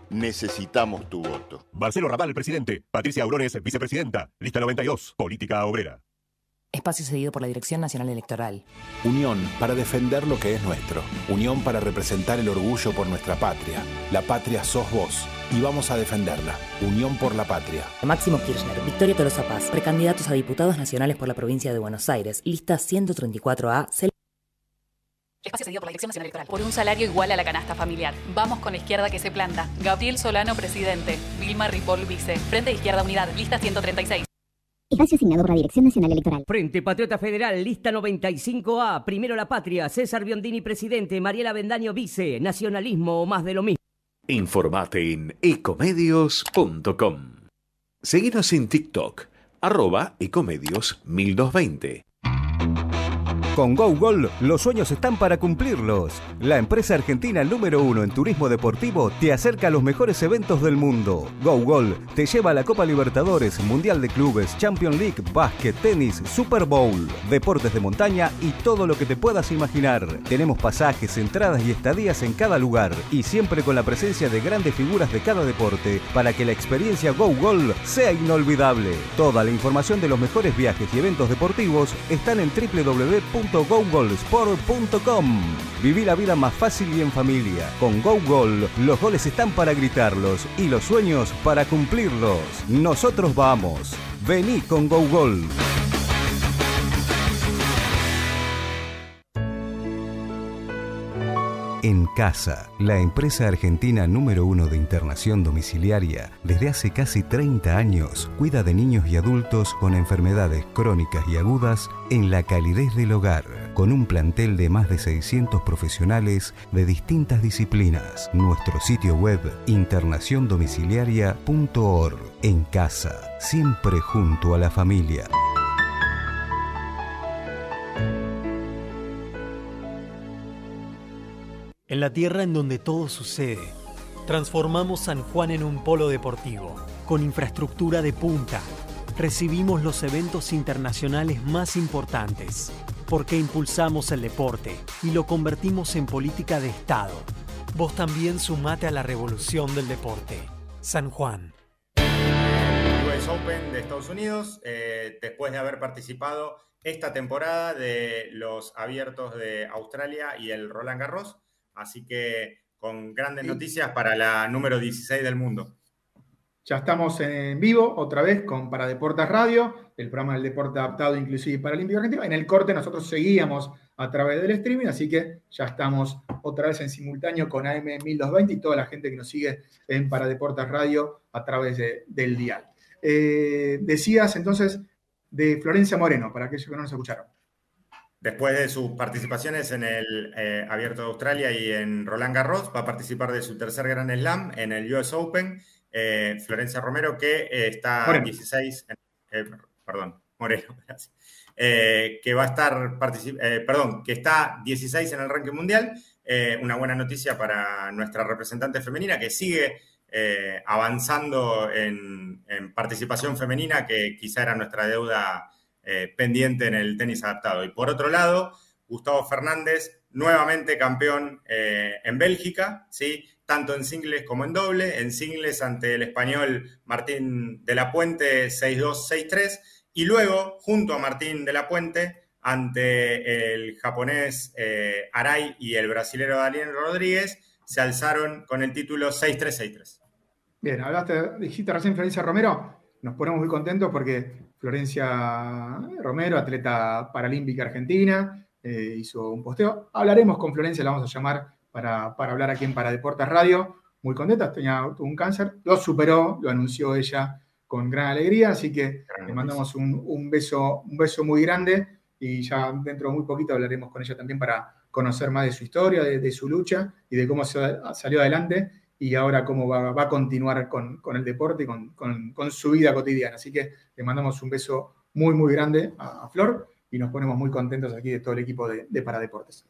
necesitamos tu voto. Marcelo Raval, presidente. Patricia Aurones, vicepresidenta. Lista noventa y dos, Política Obrera. Espacio cedido por la Dirección Nacional Electoral. Unión para defender lo que es nuestro. Unión para representar el orgullo por nuestra patria. La patria sos vos y vamos a defenderla. Unión por la patria. Máximo Kirchner, Victoria Tolosa Paz, precandidatos a diputados nacionales por la provincia de Buenos Aires. Lista ciento treinta y cuatro A. Espacio cedido por la Dirección Nacional Electoral. Por un salario igual a la canasta familiar. Vamos con la izquierda que se planta. Gabriel Solano, presidente. Vilma Ripoll, vice. Frente de Izquierda Unidad. Lista ciento treinta y seis. Espacio asignado por la Dirección Nacional Electoral. Frente Patriota Federal, lista noventa y cinco A. Primero la Patria. César Biondini, presidente. Mariela Bendaño, vice. Nacionalismo o más de lo mismo. Informate en ecomedios punto com. Seguinos en TikTok, arroba ecomedios mil doscientos veinte. Con GoGol, los sueños están para cumplirlos. La empresa argentina número uno en turismo deportivo te acerca a los mejores eventos del mundo. GoGol te lleva a la Copa Libertadores, Mundial de Clubes, Champions League, básquet, tenis, Super Bowl, deportes de montaña y todo lo que te puedas imaginar. Tenemos pasajes, entradas y estadías en cada lugar y siempre con la presencia de grandes figuras de cada deporte para que la experiencia GoGol sea inolvidable. Toda la información de los mejores viajes y eventos deportivos están en doble u doble u doble u punto gogolsport punto com. Viví la vida más fácil y en familia. Con GoGol, los goles están para gritarlos y los sueños para cumplirlos. Nosotros vamos. Vení con GoGol. En Casa, la empresa argentina número uno de internación domiciliaria, desde hace casi treinta años, cuida de niños y adultos con enfermedades crónicas y agudas en la calidez del hogar, con un plantel de más de seiscientos profesionales de distintas disciplinas. Nuestro sitio web, internación domiciliaria punto org. En Casa, siempre junto a la familia. En la tierra en donde todo sucede, transformamos San Juan en un polo deportivo, con infraestructura de punta. Recibimos los eventos internacionales más importantes, porque impulsamos el deporte y lo convertimos en política de Estado. Vos también sumate a la revolución del deporte. San Juan. U S Open de Estados Unidos, eh, después de haber participado esta temporada de los abiertos de Australia y el Roland Garros. Así que con grandes sí. noticias para la número dieciséis del mundo. Ya estamos en vivo otra vez con Para Deportes Radio, el programa del deporte adaptado inclusive y paralímpico argentino. En el corte nosotros seguíamos a través del streaming, así que ya estamos otra vez en simultáneo con A M mil doscientos veinte y toda la gente que nos sigue en Para Deportes Radio a través de, del dial. Eh, decías entonces de Florencia Moreno, para aquellos que no nos escucharon. Después de sus participaciones en el eh, Abierto de Australia y en Roland Garros, va a participar de su tercer Grand Slam en el U S Open. Eh, Florencia Romero, que eh, está Moreno. dieciséis, eh, perdón, Moreno, gracias. Eh, que va a estar, eh, perdón, que está dieciséis en el ranking mundial. Eh, una buena noticia para nuestra representante femenina, que sigue eh, avanzando en, en participación femenina, que quizá era nuestra deuda Eh, pendiente en el tenis adaptado. Y por otro lado, Gustavo Fernández, nuevamente campeón eh, en Bélgica, ¿sí? Tanto en singles como en doble. En singles ante el español Martín de la Puente seis dos, seis tres. Y luego, junto a Martín de la Puente, ante el japonés eh, Arai y el brasilero Daniel Rodríguez, se alzaron con el título seis tres, seis tres. Bien, hablaste, dijiste recién Florencia Romero. Nos ponemos muy contentos porque Florencia Romero, atleta paralímpica argentina, eh, hizo un posteo. Hablaremos con Florencia, la vamos a llamar para, para hablar aquí en Para Deportes Radio. Muy contenta, tenía un cáncer, lo superó, lo anunció ella con gran alegría, así que le mandamos un, un, beso, un beso muy grande y ya dentro de muy poquito hablaremos con ella también para conocer más de su historia, de, de su lucha y de cómo se salió adelante y ahora cómo va, va a continuar con, con el deporte y con, con, con su vida cotidiana. Así que le mandamos un beso muy, muy grande a, a Flor y nos ponemos muy contentos aquí de todo el equipo de, de Paradeportes.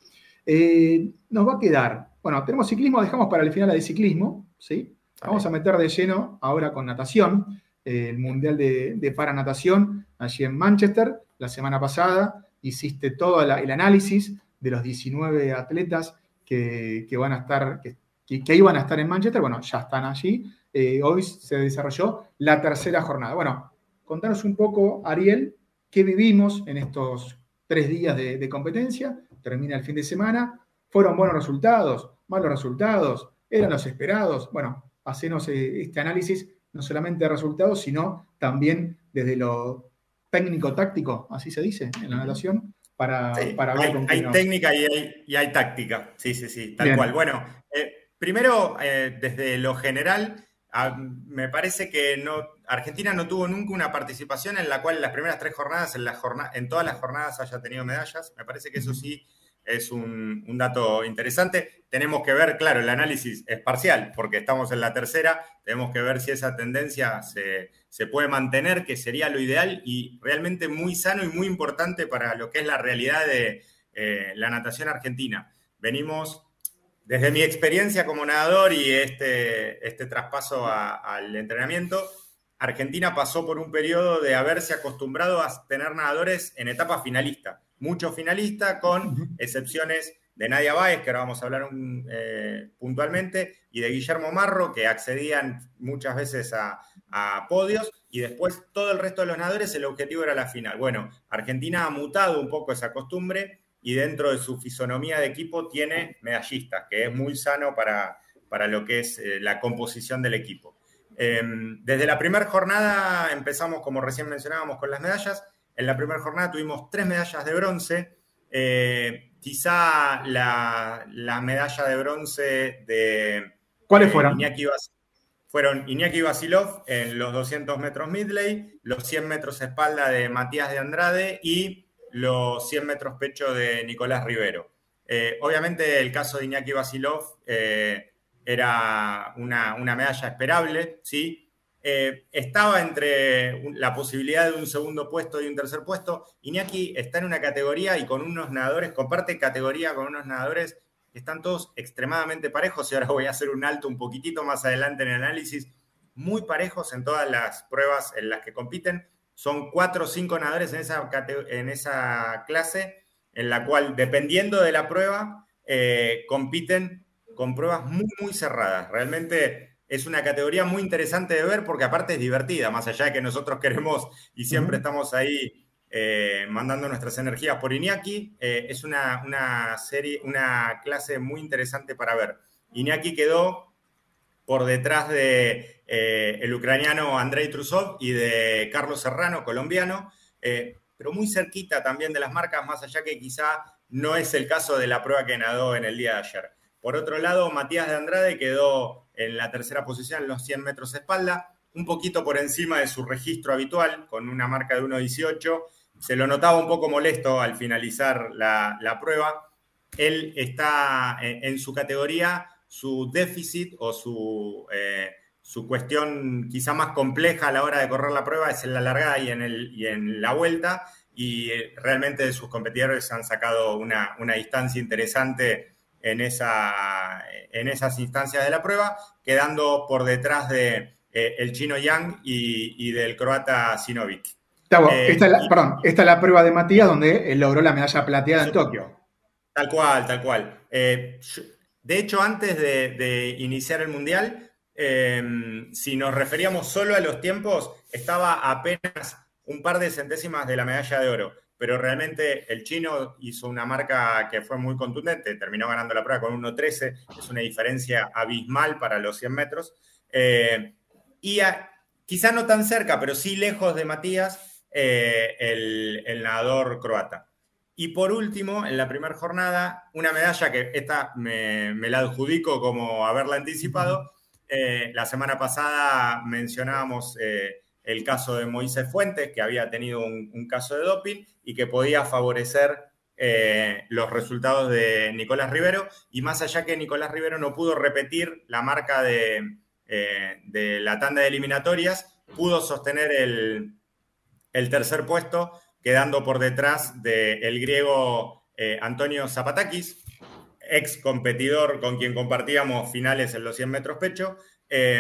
Eh, nos va a quedar, bueno, tenemos ciclismo, dejamos para el final la de ciclismo, ¿sí? Vamos a meter de lleno ahora con natación, eh, el Mundial de, de Paranatación, allí en Manchester, la semana pasada, hiciste todo la, el análisis de los diecinueve atletas que, que van a estar, que que, que iban a estar en Manchester, bueno, ya están allí. Eh, hoy se desarrolló la tercera jornada. Bueno, contanos un poco, Ariel, qué vivimos en estos tres días de, de competencia. Termina el fin de semana. ¿Fueron buenos resultados? ¿Malos resultados? ¿Eran los esperados? Bueno, hacenos eh, este análisis no solamente de resultados, sino también desde lo técnico-táctico, así se dice en la natación, para, sí, para ver hay, con hay nos... técnica y hay, y hay táctica. Sí, sí, sí, tal Bien. cual. Bueno, eh, primero, eh, desde lo general, a, me parece que no, Argentina no tuvo nunca una participación en la cual en las primeras tres jornadas, en, la jornada, en todas las jornadas haya tenido medallas. Me parece que eso sí es un, un dato interesante. Tenemos que ver, claro, el análisis es parcial, porque estamos en la tercera, tenemos que ver si esa tendencia se, se puede mantener, que sería lo ideal y realmente muy sano y muy importante para lo que es la realidad de eh, la natación argentina. Venimos, desde mi experiencia como nadador y este, este traspaso a, al entrenamiento, Argentina pasó por un periodo de haberse acostumbrado a tener nadadores en etapa finalista. Muchos finalistas, con excepciones de Nadia Báez, que ahora vamos a hablar un, eh, puntualmente, y de Guillermo Marro, que accedían muchas veces a, a podios, y después todo el resto de los nadadores, el objetivo era la final. Bueno, Argentina ha mutado un poco esa costumbre, y dentro de su fisonomía de equipo tiene medallistas, que es muy sano para, para lo que es eh, la composición del equipo. Eh, desde la primera jornada empezamos, como recién mencionábamos, con las medallas. En la primera jornada tuvimos tres medallas de bronce. Eh, quizá la, la medalla de bronce de... ¿Cuáles eh, fueron? Iñaki Bas, fueron Iñaki Vasilov en los doscientos metros midley, los cien metros espalda de Matías de Andrade y los cien metros pecho de Nicolás Rivero. Eh, obviamente el caso de Iñaki Vasilov eh, era una, una medalla esperable, ¿sí? Eh, estaba entre la posibilidad de un segundo puesto y un tercer puesto. Iñaki está en una categoría y con unos nadadores, comparte categoría con unos nadadores que están todos extremadamente parejos, y ahora voy a hacer un alto un poquitito más adelante en el análisis, muy parejos en todas las pruebas en las que compiten. Son cuatro o cinco nadadores en esa, en esa clase, en la cual, dependiendo de la prueba, eh, compiten con pruebas muy, muy cerradas. Realmente es una categoría muy interesante de ver porque aparte es divertida, más allá de que nosotros queremos y siempre uh-huh. estamos ahí eh, mandando nuestras energías por Iñaki. Eh, es una, una serie, una clase muy interesante para ver. Iñaki quedó por detrás de eh, el ucraniano Andrei Trusov y de Carlos Serrano, colombiano, eh, pero muy cerquita también de las marcas, más allá que quizá no es el caso de la prueba que nadó en el día de ayer. Por otro lado, Matías de Andrade quedó en la tercera posición en los cien metros espalda, un poquito por encima de su registro habitual, con una marca de uno dieciocho. Se lo notaba un poco molesto al finalizar la, la prueba. Él está en, en su categoría, su déficit o su, eh, su cuestión quizá más compleja a la hora de correr la prueba es en la largada y en, el, y en la vuelta, y realmente sus competidores han sacado una, una distancia interesante en, esa, en esas instancias de la prueba, quedando por detrás de eh, el chino Yang y, y del croata Sinovic. Tavo, eh, esta, es la, y, perdón, esta es la prueba de Matías donde él logró la medalla plateada en Tokio. Tal cual, tal cual. Eh, de hecho, antes de, de iniciar el Mundial, eh, si nos referíamos solo a los tiempos, estaba apenas un par de centésimas de la medalla de oro. Pero realmente el chino hizo una marca que fue muy contundente, terminó ganando la prueba con uno trece, es una diferencia abismal para los cien metros. Eh, y a, quizá no tan cerca, pero sí lejos de Matías, eh, el, el nadador croata. Y por último, en la primera jornada, una medalla que esta me, me la adjudico como haberla anticipado. Eh, la semana pasada mencionábamos eh, el caso de Moisés Fuentes, que había tenido un, un caso de doping y que podía favorecer eh, los resultados de Nicolás Rivero. Y más allá que Nicolás Rivero no pudo repetir la marca de, eh, de la tanda de eliminatorias, pudo sostener el, el tercer puesto, quedando por detrás del griego eh, Antonio Zapatakis, ex competidor con quien compartíamos finales en los cien metros pecho, eh,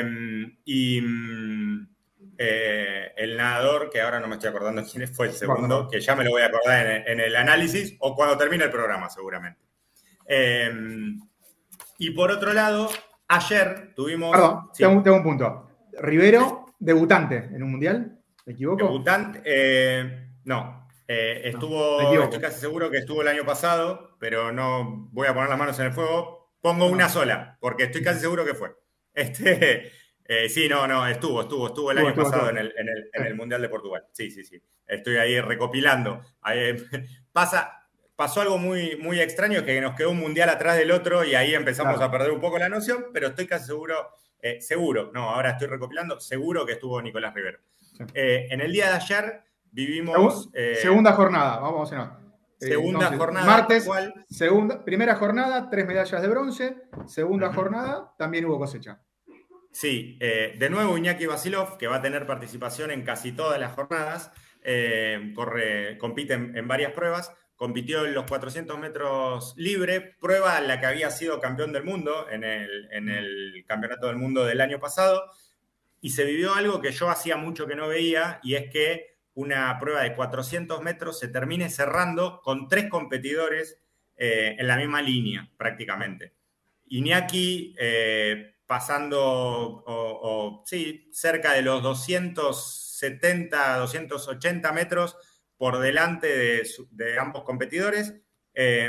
y eh, el nadador, que ahora no me estoy acordando quién fue el segundo, bueno, que ya me lo voy a acordar en, en el análisis o cuando termine el programa seguramente. Eh, y por otro lado, Ayer tuvimos... Perdón, sí. tengo, tengo un punto. Rivero, debutante en un mundial, ¿me equivoco? Debutante, eh, no. Eh, estuvo, no, estoy casi seguro que estuvo el año pasado, pero no voy a poner las manos en el fuego. Pongo una sola, porque estoy casi seguro que fue. Este, eh, sí, no, no, estuvo, estuvo, estuvo el Estuvo, año estuvo, pasado estuvo. En, el, en, el, en el Mundial de Portugal. Sí, sí, sí. Estoy ahí recopilando. Ahí, pasa, pasó algo muy, muy extraño, que nos quedó un Mundial atrás del otro y ahí empezamos Claro. a perder un poco la noción, pero estoy casi seguro, eh, seguro, no, ahora estoy recopilando, seguro que estuvo Nicolás Rivero. Sí. Eh, en el día de ayer vivimos... Eh, segunda jornada, vamos a ver. Eh, segunda entonces, jornada. Martes, ¿cuál? segunda, primera jornada, tres medallas de bronce. Segunda Uh-huh. jornada, también hubo cosecha. Sí, eh, de nuevo Iñaki Vasilov, que va a tener participación en casi todas las jornadas, eh, corre, compite en, en varias pruebas, compitió en los cuatrocientos metros libre, prueba en la que había sido campeón del mundo en el, en el Campeonato del Mundo del año pasado, y se vivió algo que yo hacía mucho que no veía, y es que una prueba de cuatrocientos metros se termine cerrando con tres competidores eh, en la misma línea, prácticamente. Iñaki eh, pasando, o, o, sí, cerca de los doscientos setenta, doscientos ochenta metros por delante de, de ambos competidores, eh,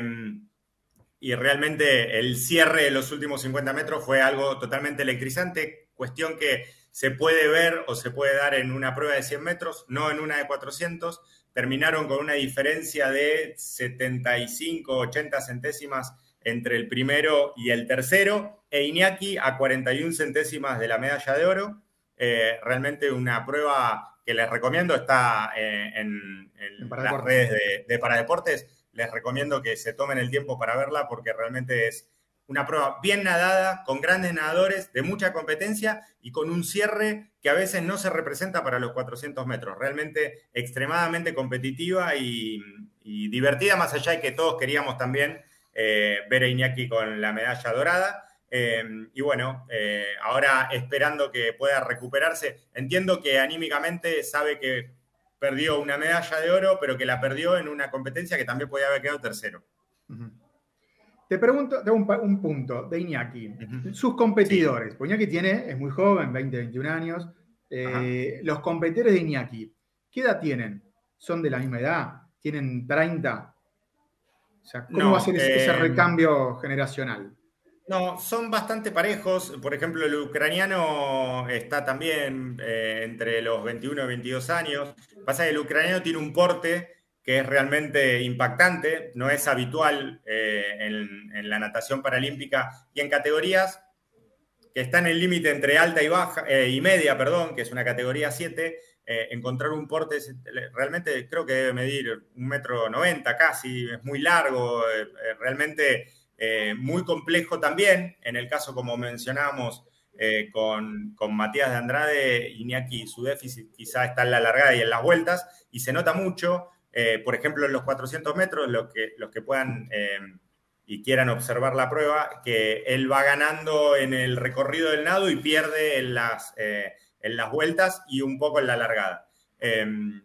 y realmente el cierre de los últimos cincuenta metros fue algo totalmente electrizante, cuestión que se puede ver o se puede dar en una prueba de cien metros, no en una de cuatrocientos. Terminaron con una diferencia de setenta y cinco, ochenta centésimas entre el primero y el tercero, e Iñaki a cuarenta y una centésimas de la medalla de oro. Eh, realmente una prueba que les recomiendo, está eh, en, en, en las redes de, de Paradeportes. Les recomiendo que se tomen el tiempo para verla, porque realmente es una prueba bien nadada, con grandes nadadores, de mucha competencia y con un cierre que a veces no se representa para los cuatrocientos metros. Realmente extremadamente competitiva y, y divertida, más allá de que todos queríamos también eh, ver a Iñaki con la medalla dorada. Eh, y bueno, eh, ahora esperando que pueda recuperarse. Entiendo que anímicamente sabe que perdió una medalla de oro, pero que la perdió en una competencia que también podía haber quedado tercero. Uh-huh. Te pregunto, tengo un, un punto de Iñaki. Uh-huh. Sus competidores, sí. Pues Iñaki tiene, es muy joven, veinte, veintiún años. Eh, los competidores de Iñaki, ¿qué edad tienen? ¿Son de la misma edad? ¿Tienen treinta? O sea, ¿cómo no, va a ser ese, eh, ese recambio generacional? No, son bastante parejos. Por ejemplo, el ucraniano está también eh, entre los veintiuno y veintidós años. Pasa que el ucraniano tiene un porte que es realmente impactante, no es habitual eh, en, en la natación paralímpica y en categorías que están en el límite entre alta y baja eh, y media, perdón, que es una categoría siete, eh, encontrar un porte realmente creo que debe medir un metro noventa casi, es muy largo, eh, realmente eh, muy complejo también. En el caso, como mencionábamos, eh, con, con Matías de Andrade, Iñaki, su déficit quizá está en la largada y en las vueltas, y se nota mucho. Eh, por ejemplo, en los cuatrocientos metros, los que, los que puedan eh, y quieran observar la prueba, que él va ganando en el recorrido del nado y pierde en las, eh, en las vueltas y un poco en la largada. Eh,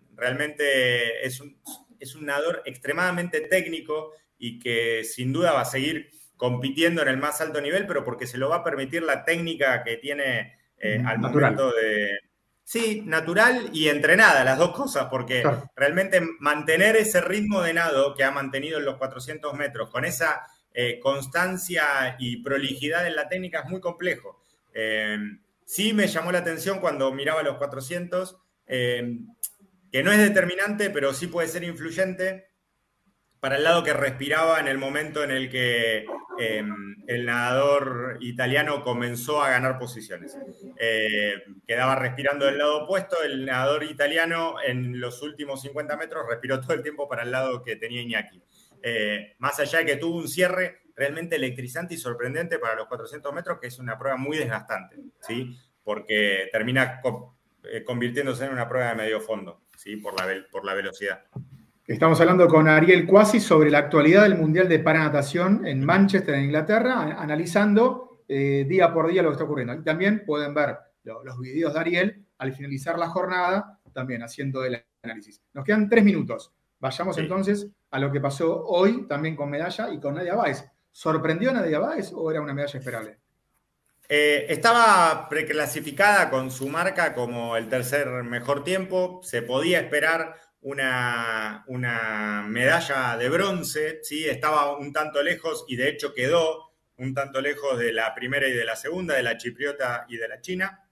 realmente es un, es un nadador extremadamente técnico y que sin duda va a seguir compitiendo en el más alto nivel, pero porque se lo va a permitir la técnica que tiene eh, al natural. momento de... Sí, natural y entrenada, las dos cosas, porque claro, realmente mantener ese ritmo de nado que ha mantenido en los cuatrocientos metros, con esa eh, constancia y prolijidad en la técnica, es muy complejo. Eh, sí me llamó la atención cuando miraba los cuatrocientos, eh, que no es determinante, pero sí puede ser influyente para el lado que respiraba en el momento en el que eh, el nadador italiano comenzó a ganar posiciones. Eh, quedaba respirando del lado opuesto, el nadador italiano en los últimos cincuenta metros respiró todo el tiempo para el lado que tenía Iñaki. Eh, más allá de que tuvo un cierre realmente electrizante y sorprendente para los cuatrocientos metros, que es una prueba muy desgastante, ¿sí? Porque termina co- eh, convirtiéndose en una prueba de medio fondo, ¿sí? Por la, ve- por la velocidad. Estamos hablando con Ariel Cuasi sobre la actualidad del Mundial de Paranatación en Manchester, en Inglaterra, a- analizando eh, día por día lo que está ocurriendo. Y también pueden ver lo, los videos de Ariel al finalizar la jornada, también haciendo el análisis. Nos quedan tres minutos. Vayamos sí. entonces a lo que pasó hoy, también con medalla y con Nadia Báez. ¿Sorprendió a Nadia Báez o era una medalla esperable? Eh, estaba preclasificada con su marca como el tercer mejor tiempo. Se podía esperar una, una medalla de bronce, ¿sí? Estaba un tanto lejos y de hecho quedó un tanto lejos de la primera y de la segunda, de la chipriota y de la china.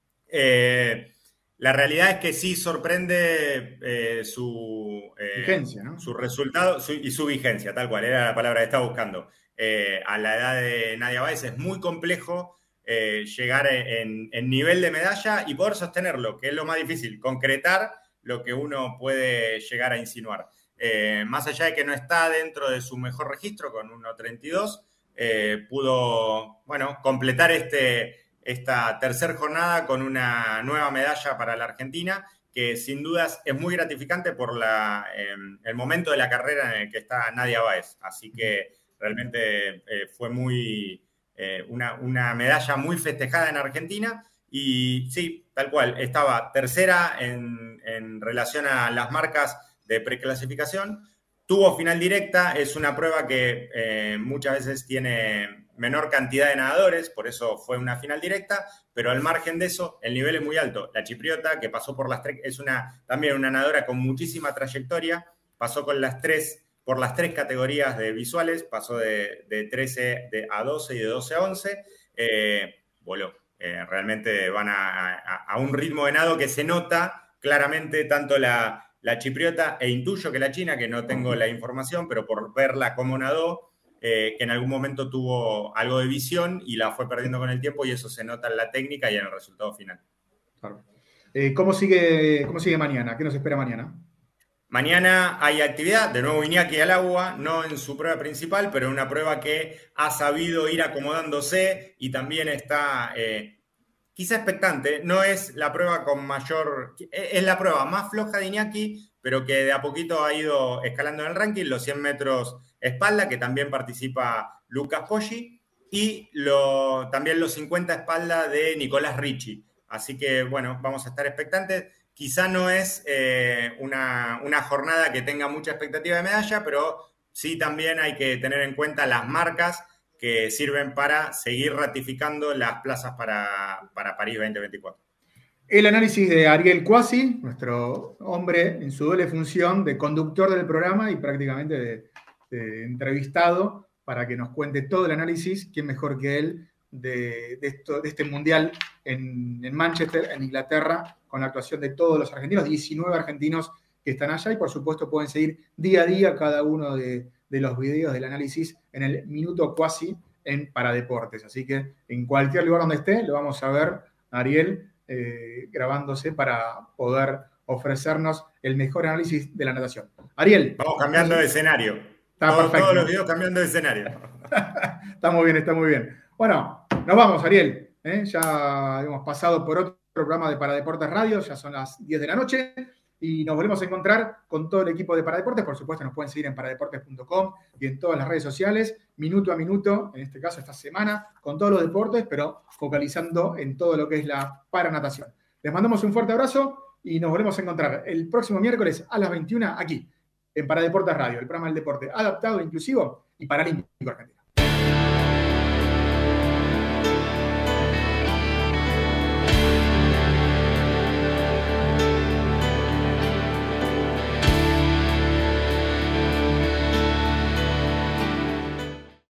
Eh, la realidad es que sí sorprende eh, su, eh, vigencia, ¿no? Su resultado su, y su vigencia, tal cual, era la palabra que estaba buscando. Eh, a la edad de Nadia Báez es muy complejo eh, llegar en, en nivel de medalla y poder sostenerlo, que es lo más difícil, concretar lo que uno puede llegar a insinuar. Eh, más allá de que no está dentro de su mejor registro con uno treinta y dos, eh, pudo, bueno, completar este, esta tercera jornada con una nueva medalla para la Argentina, que sin dudas es muy gratificante por la, eh, el momento de la carrera en el que está Nadia Báez. Así que realmente eh, fue muy, eh, una, una medalla muy festejada en Argentina. Y sí, tal cual, estaba tercera en, en relación a las marcas de preclasificación. Tuvo final directa, es una prueba que eh, muchas veces tiene menor cantidad de nadadores, por eso fue una final directa, pero al margen de eso, el nivel es muy alto. La chipriota, que pasó por las tres, es una, también una nadadora con muchísima trayectoria, pasó con las tres, por las tres categorías de visuales, pasó de, de trece de, a doce y de doce a once, eh, voló. Eh, realmente van a, a, a un ritmo de nado que se nota claramente tanto la... La chipriota, e intuyo que la china, que no tengo la información, pero por verla cómo nadó, eh, que en algún momento tuvo algo de visión y la fue perdiendo con el tiempo, y eso se nota en la técnica y en el resultado final. Claro. Eh, ¿cómo sigue, ¿Cómo sigue mañana? ¿Qué nos espera mañana? Mañana hay actividad, de nuevo Iñaki al agua, no en su prueba principal, pero en una prueba que ha sabido ir acomodándose y también está... Eh, quizá expectante, no es la prueba con mayor, es la prueba más floja de Iñaki, pero que de a poquito ha ido escalando en el ranking, los cien metros espalda, que también participa Lucas Poggi, y lo, también los cincuenta espalda de Nicolás Ricci. Así que, bueno, vamos a estar expectantes. Quizá no es eh, una, una jornada que tenga mucha expectativa de medalla, pero sí también hay que tener en cuenta las marcas que sirven para seguir ratificando las plazas para, para París veinte veinticuatro. El análisis de Ariel Cuasi, nuestro hombre en su doble función de conductor del programa y prácticamente de, de entrevistado, para que nos cuente todo el análisis, quién mejor que él, de, de, esto, de este mundial en, en Manchester, en Inglaterra, con la actuación de todos los argentinos, diecinueve argentinos que están allá, y por supuesto pueden seguir día a día cada uno de de los videos del análisis en el Minuto Cuasi en Paradeportes. Así que en cualquier lugar donde esté, lo vamos a ver a Ariel eh, grabándose para poder ofrecernos el mejor análisis de la natación. Ariel. Vamos cambiando de escenario. Está Todo, perfecto. Todos los videos cambiando de escenario. Está muy bien, está muy bien. Bueno, nos vamos, Ariel. ¿eh? Ya hemos pasado por otro programa de Paradeportes Radio, ya son las diez de la noche. Y nos volvemos a encontrar con todo el equipo de Paradeportes. Por supuesto, nos pueden seguir en paradeportes punto com y en todas las redes sociales, minuto a minuto, en este caso esta semana, con todos los deportes, pero focalizando en todo lo que es la paranatación. Les mandamos un fuerte abrazo y nos volvemos a encontrar el próximo miércoles a las veintiuna aquí, en Paradeportes Radio, el programa del deporte adaptado, inclusivo y paralímpico argentino.